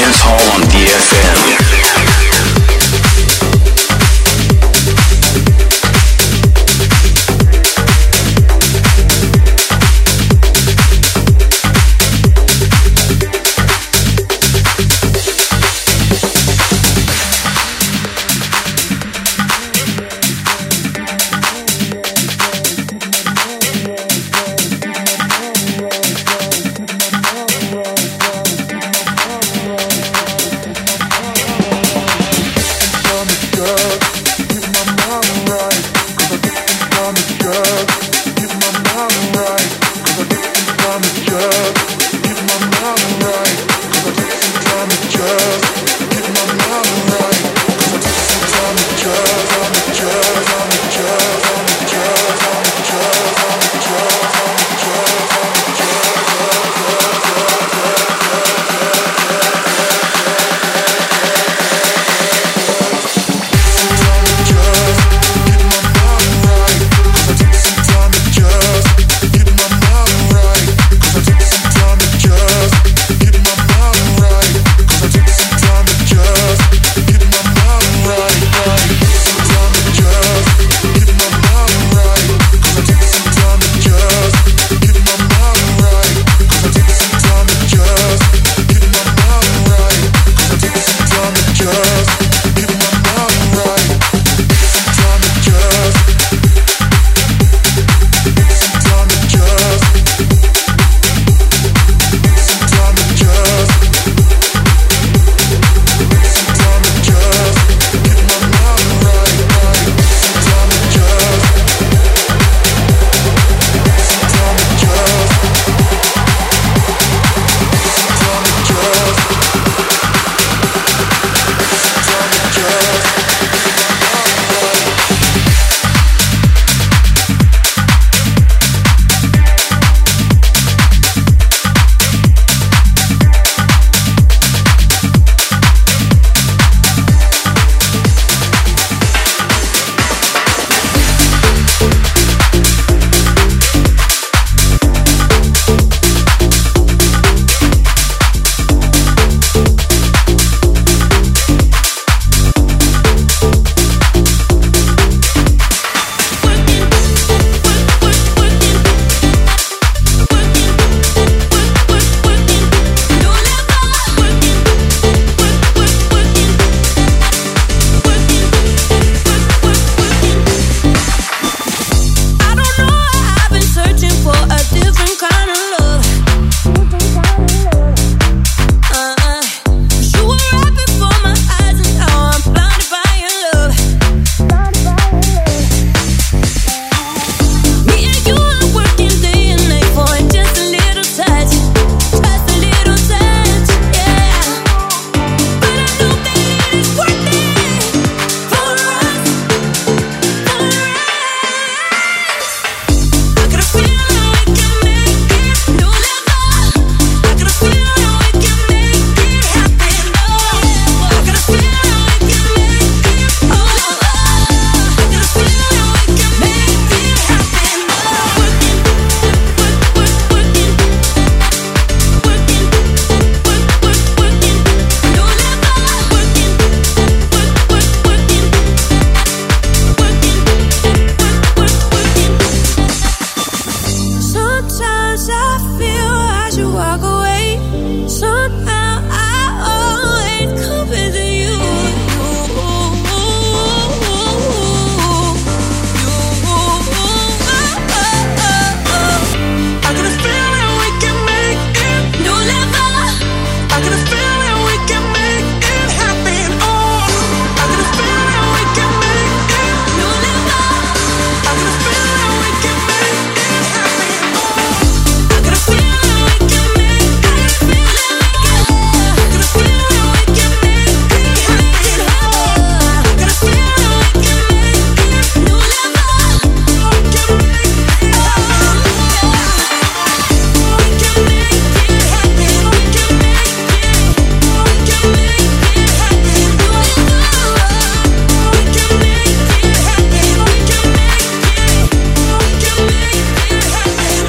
Dance Hall on DFM.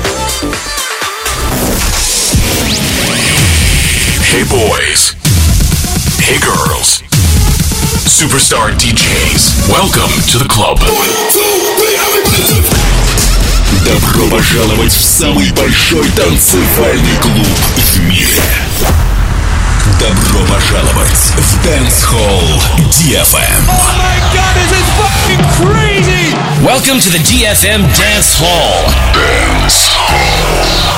Hey boys, Hey girls. Superstar DJs. Welcome to the club. Добро пожаловать в самый большой танцевальный клуб в мире. Добро пожаловать в Dance Hall DFM. Oh my god, this is fucking crazy! Welcome to the DFM Dance Hall. Dance Hall.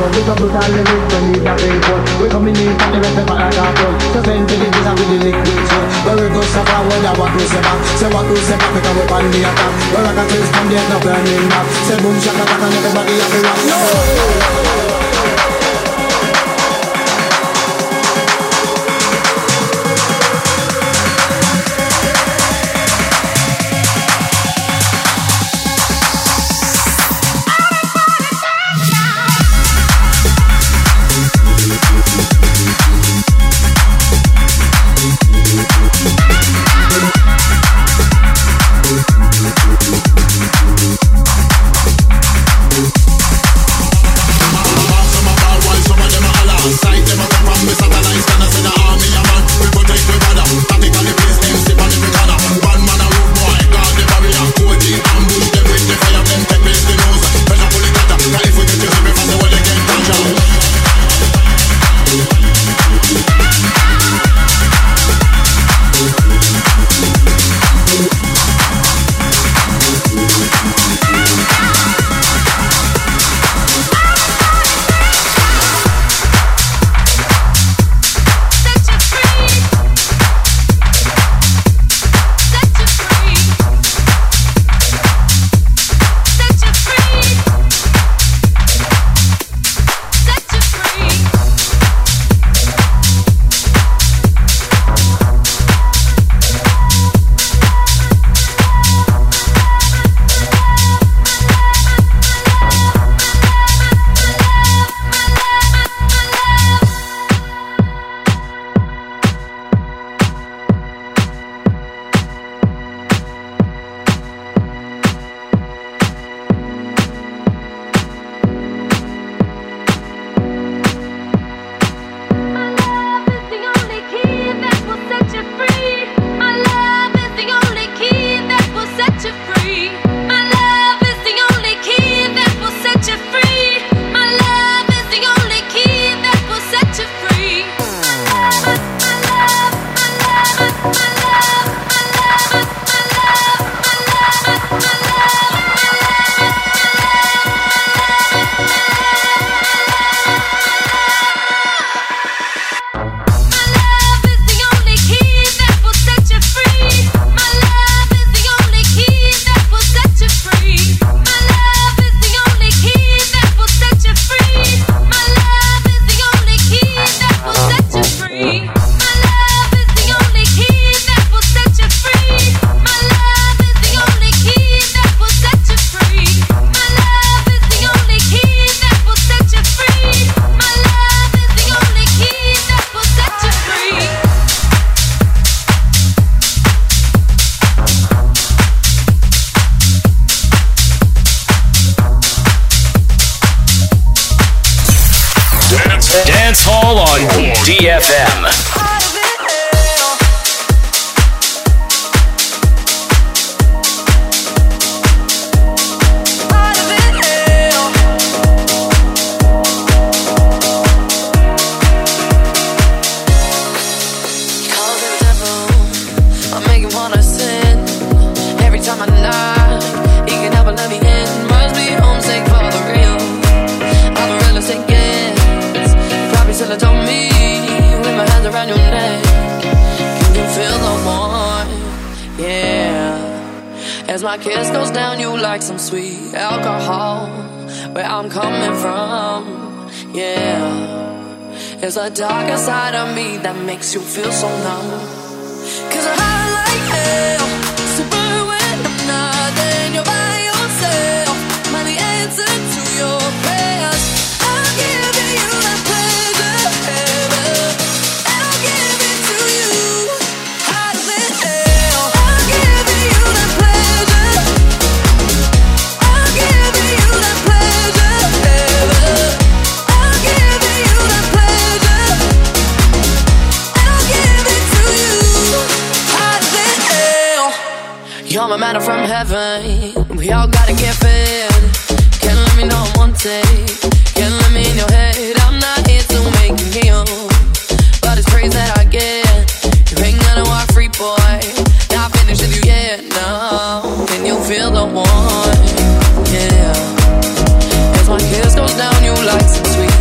road. We come to the lyrics, we need a big one. We coming in from the rest of our cartoon. So send to the pizza with the liquid soul. Where we go so far, where what we say back. Say what we say back, because we on the attack. Where I can taste from the end of burning back. Say boom, shaka, taka, and everybody have to rock. No! Dance Hall on DFM. As my kiss goes down, you like some sweet alcohol. Where I'm coming from, yeah. There's a darker side of me that makes you feel so numb. 'Cause I'm high like hell, super when I'm not, then you're by yourself. Am I the answer to your prayers? I'll give you that pleasure, and I'll give it to you. Hotter than hell, I'll give you that pleasure. I'll give you that pleasure, I'll give you that pleasure, and I'll give it to you. Hotter than hell. You're my manna from heaven. We all gotta get fed. Can't let me know I'm one take. Can't let me in your head. I'm not here to make you kneel, but it's praise that I get. You ain't gonna walk free, boy. Not finished with you yet, no. Can you feel the warmth? Yeah. As my kiss goes down, you like some sweet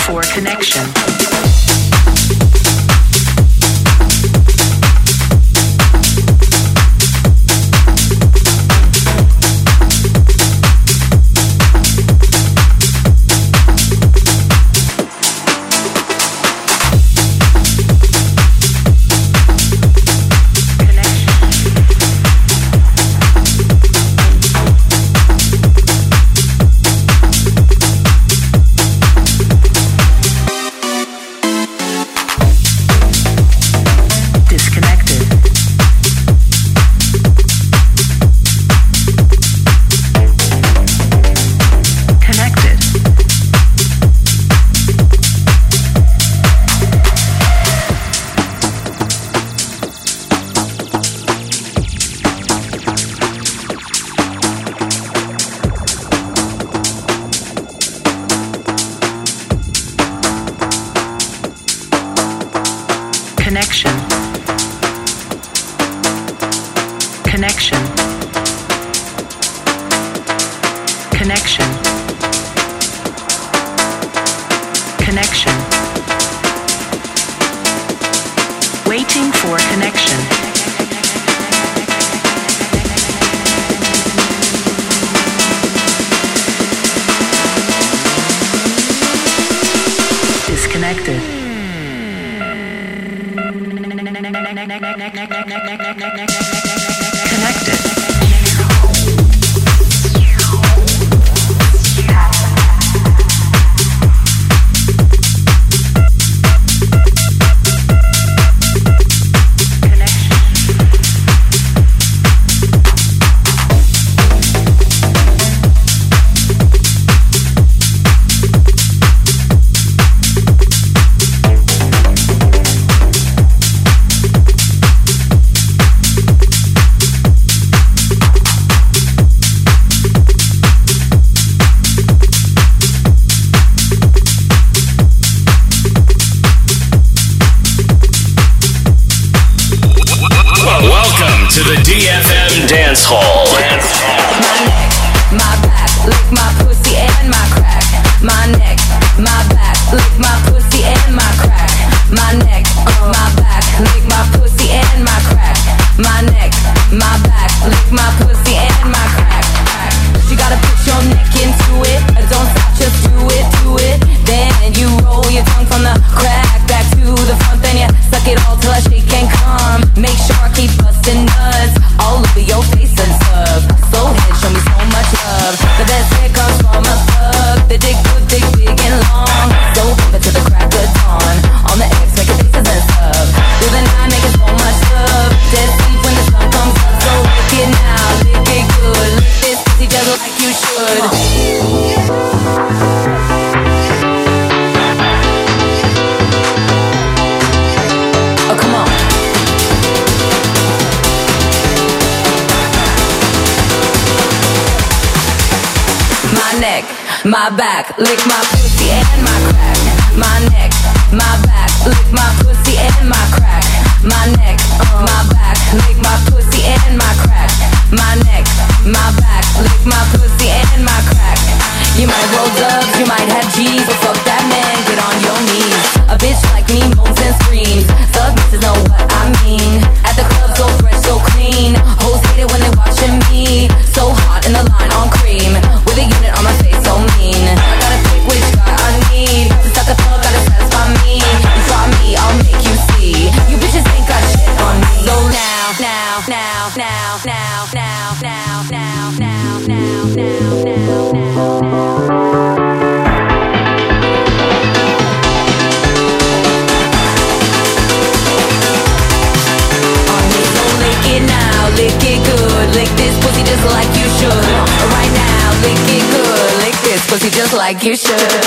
for connection. My back, lick my pussy and my crack. My neck, my back, lick my pussy and my crack. My neck, my back, lick my pussy and my crack. My neck, my back, lick my pussy and my crack. You might roll dubs, you might have G's, but fuck that man, get on your knees. A bitch like me moans and screams. Thug bitches know what I mean. At the club, so fresh, so clean. Hoes hate it when they watching me. So hot in the line on cream, with a unit on my face, so mean. I gotta pick which guy I need. To suck a thug, gotta satisfy me. You try me, I'll make you see. You bitches ain't got shit on me. So now. Lick it good, lick this pussy just like you should. Right now, lick it good, lick this pussy just like you should.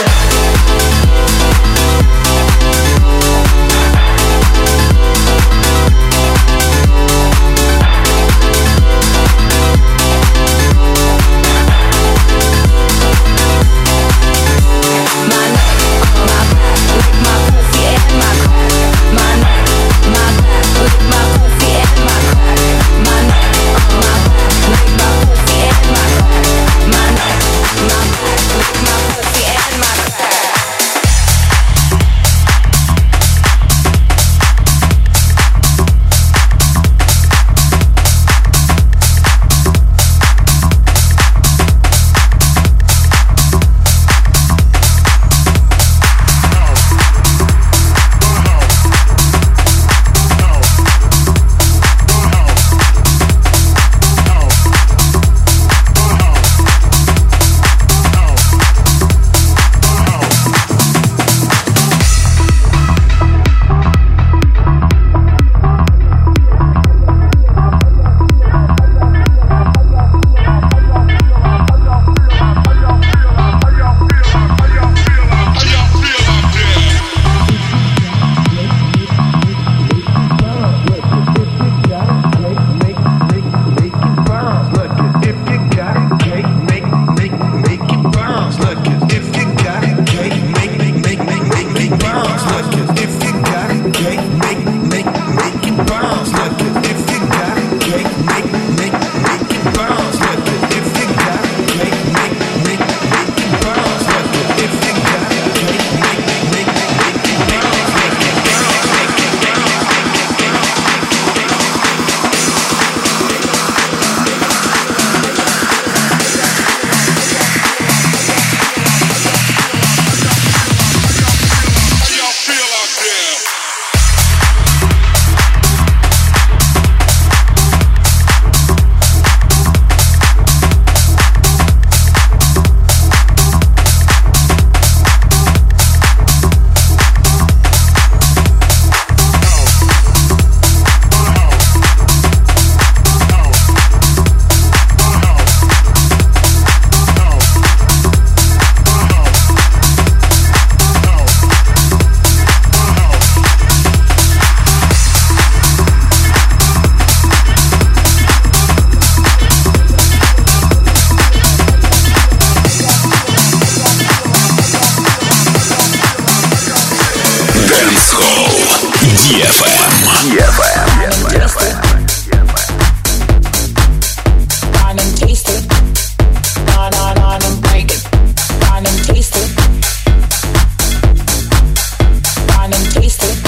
Hall DFM. Wine and taste it. On and break it. Wine and taste it. Wine and taste it.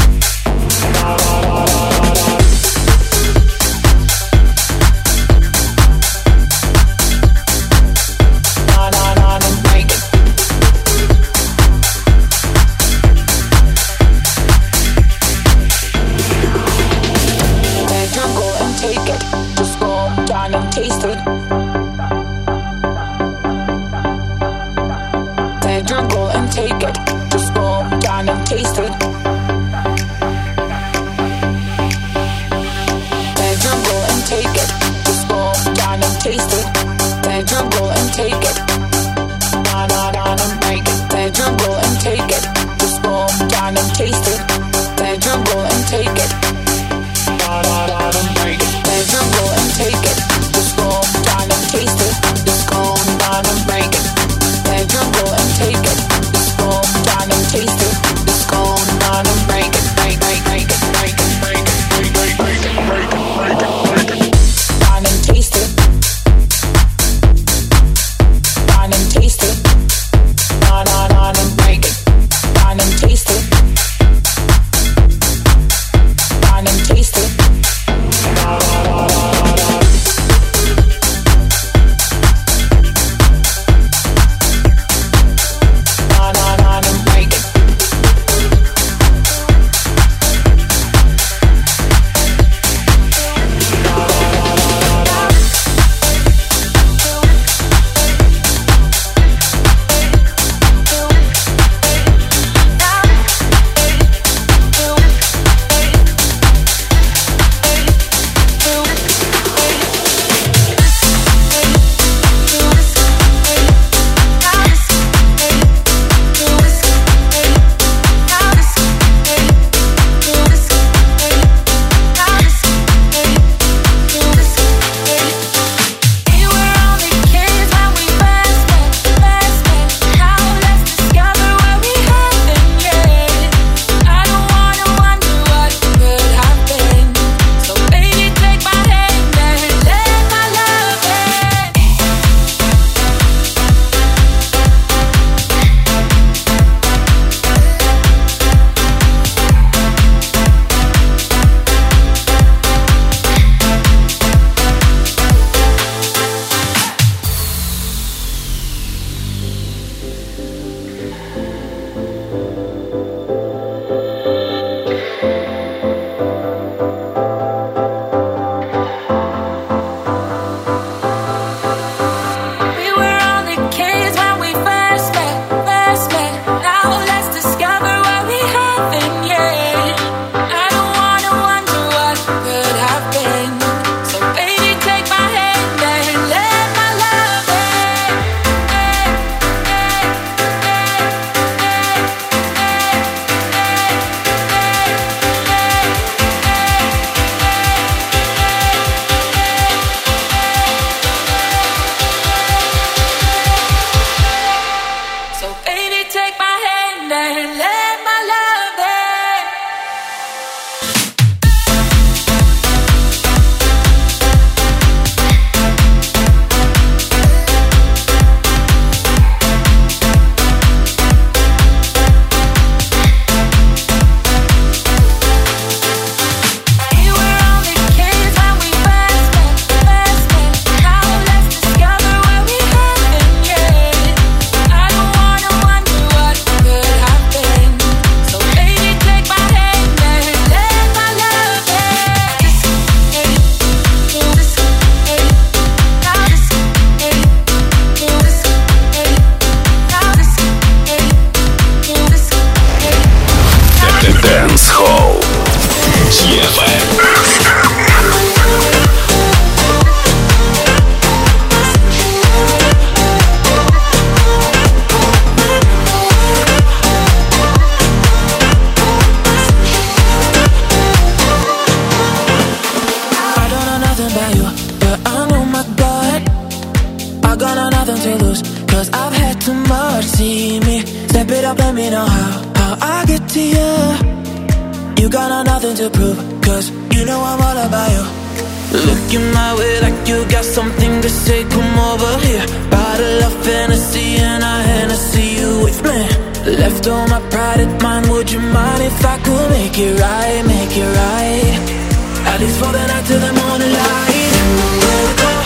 too much. See me, step it up, let me know how I get to you. You got nothing to prove, cause you know I'm all about you. Looking my way like you got something to say, come over here. Bottle of Hennessy and a Hennessy you with me. Left all my pride at mine, would you mind if I could make it right, make it right? At least for the night till the morning light. Where we go?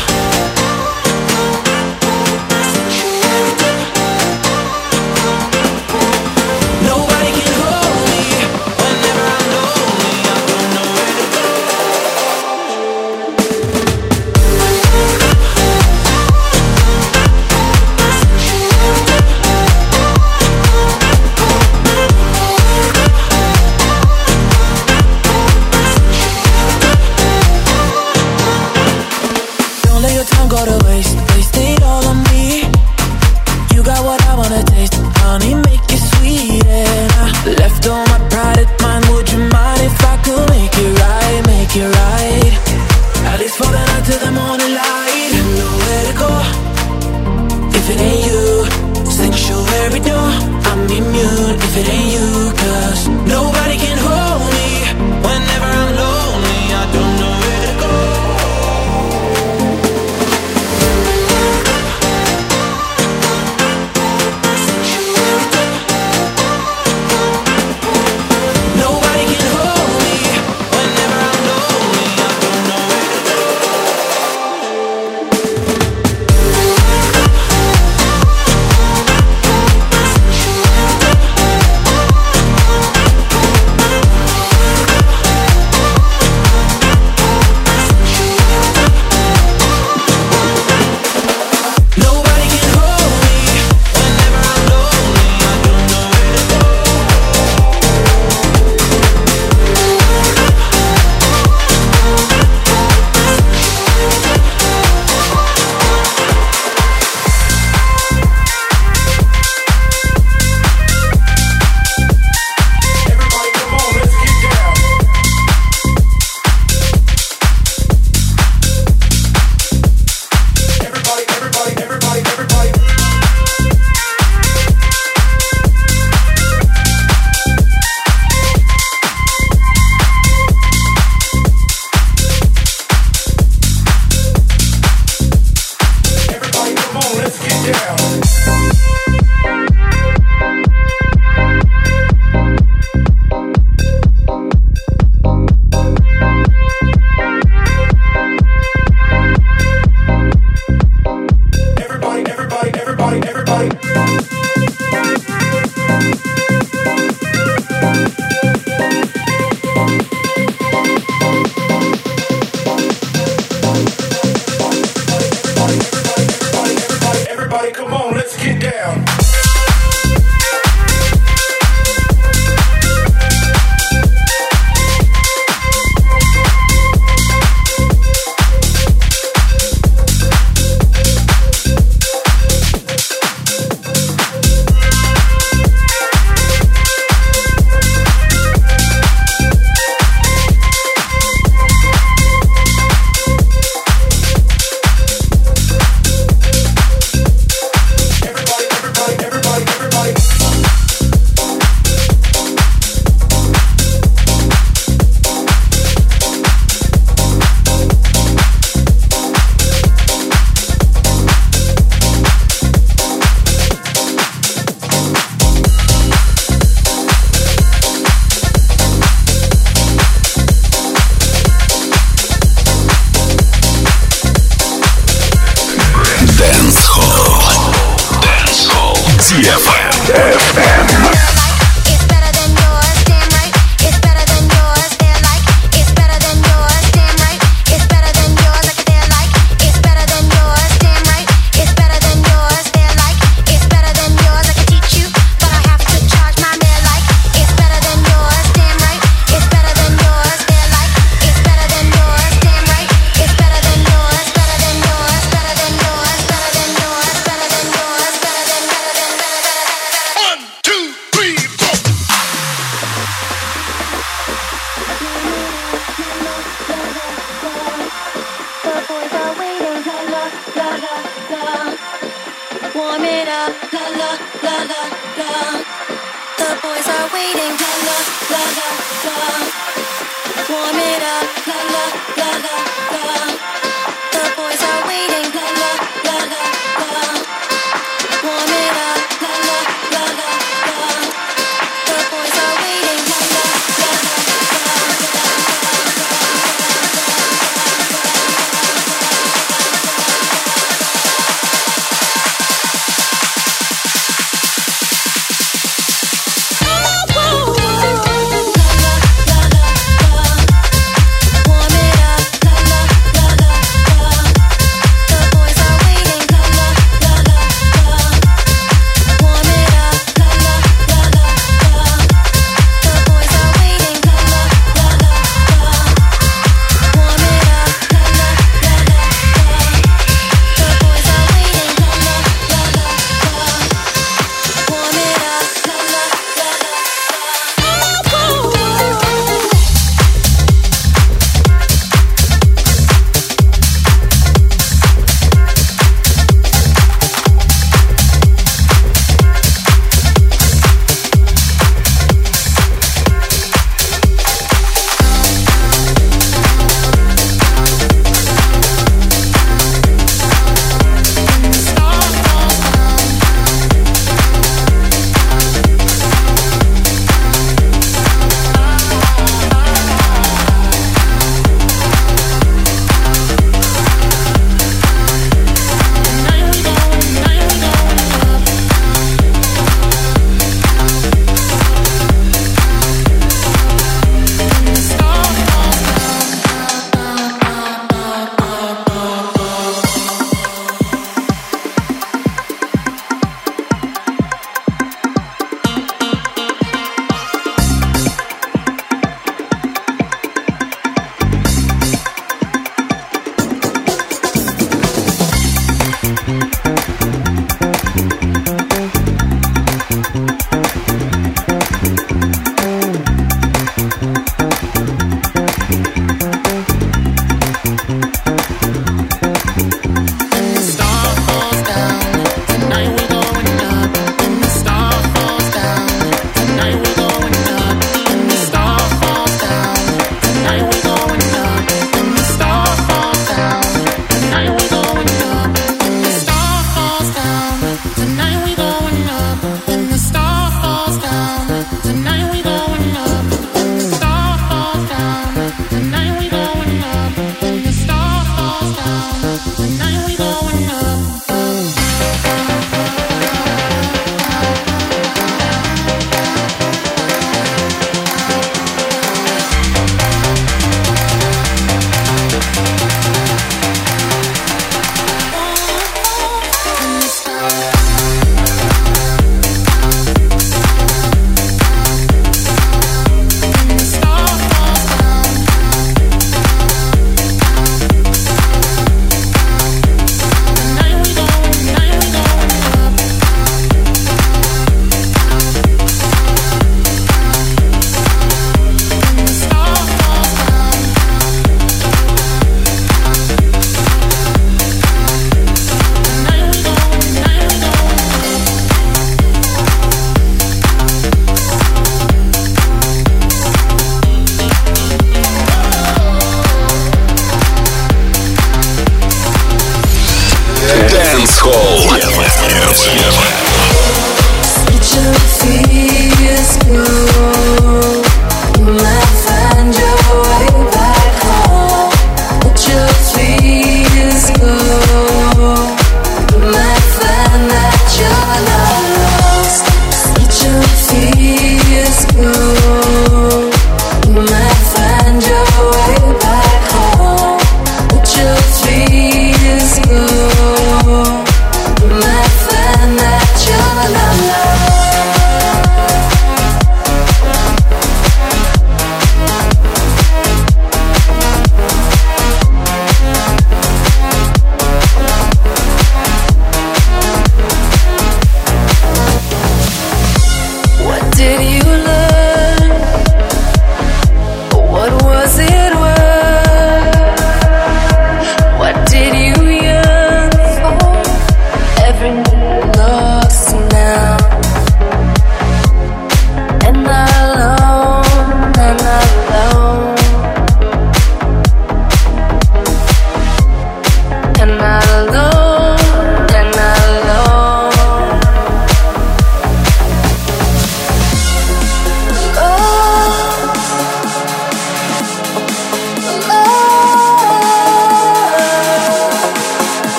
warm it up, la la la la la. The boys are waiting, la la la la la.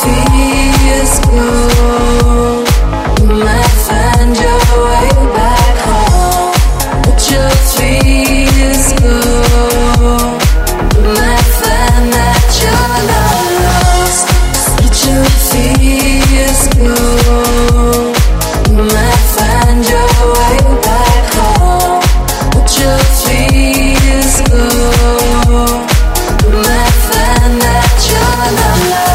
fears go, you might find your way back home. Let your fears go, you might find that you're not lost. Let your fears go, you might find your way back home. Let your fears go, you might find that you're not lost.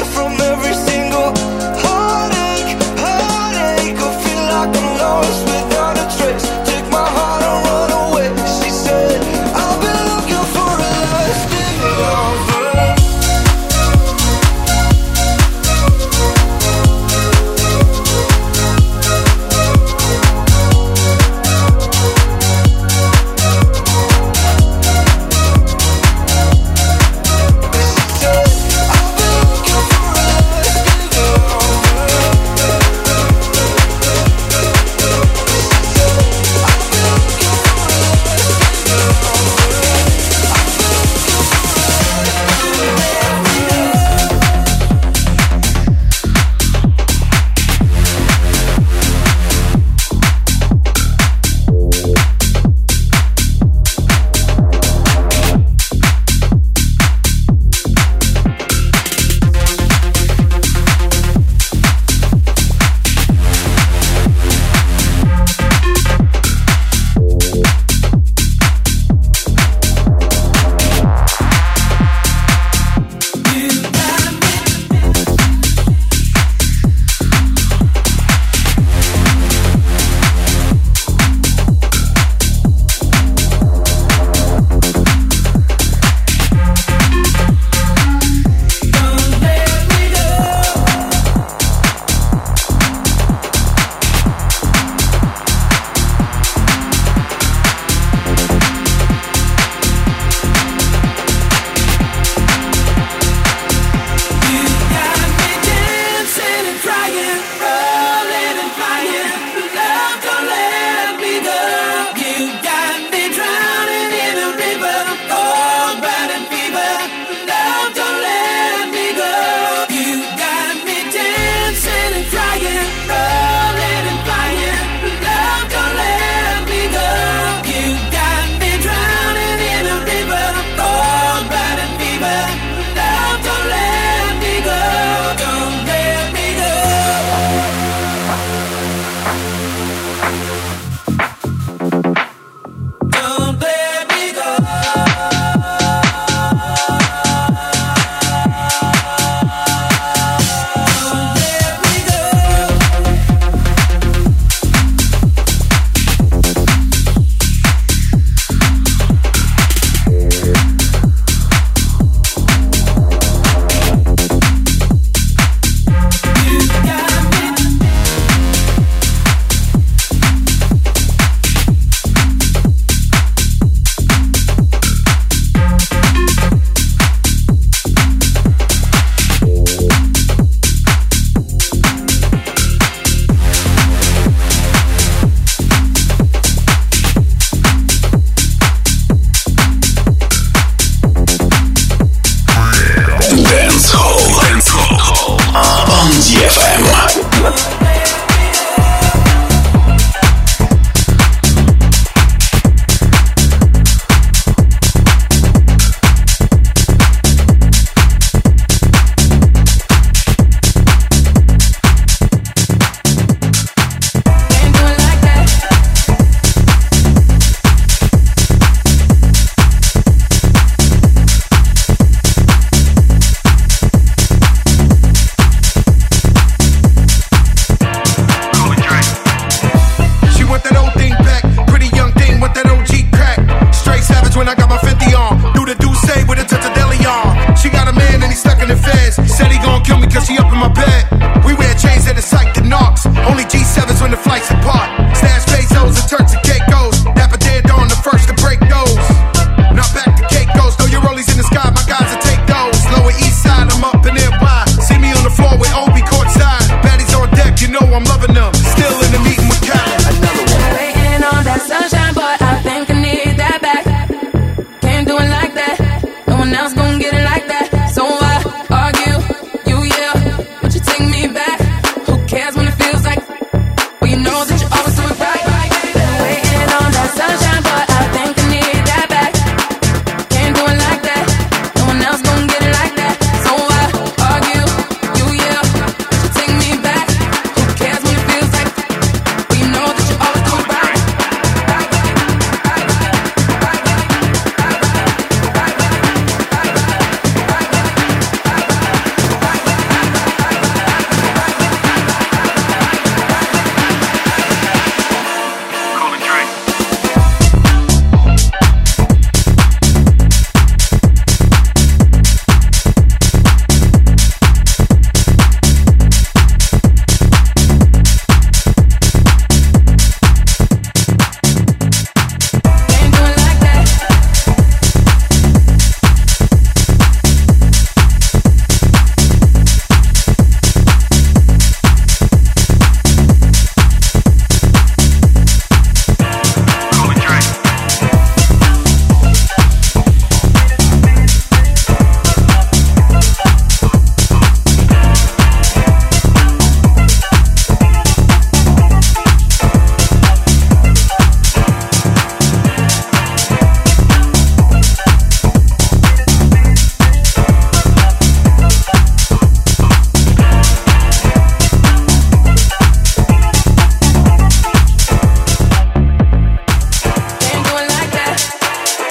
From every single heartache, I feel like I'm lost without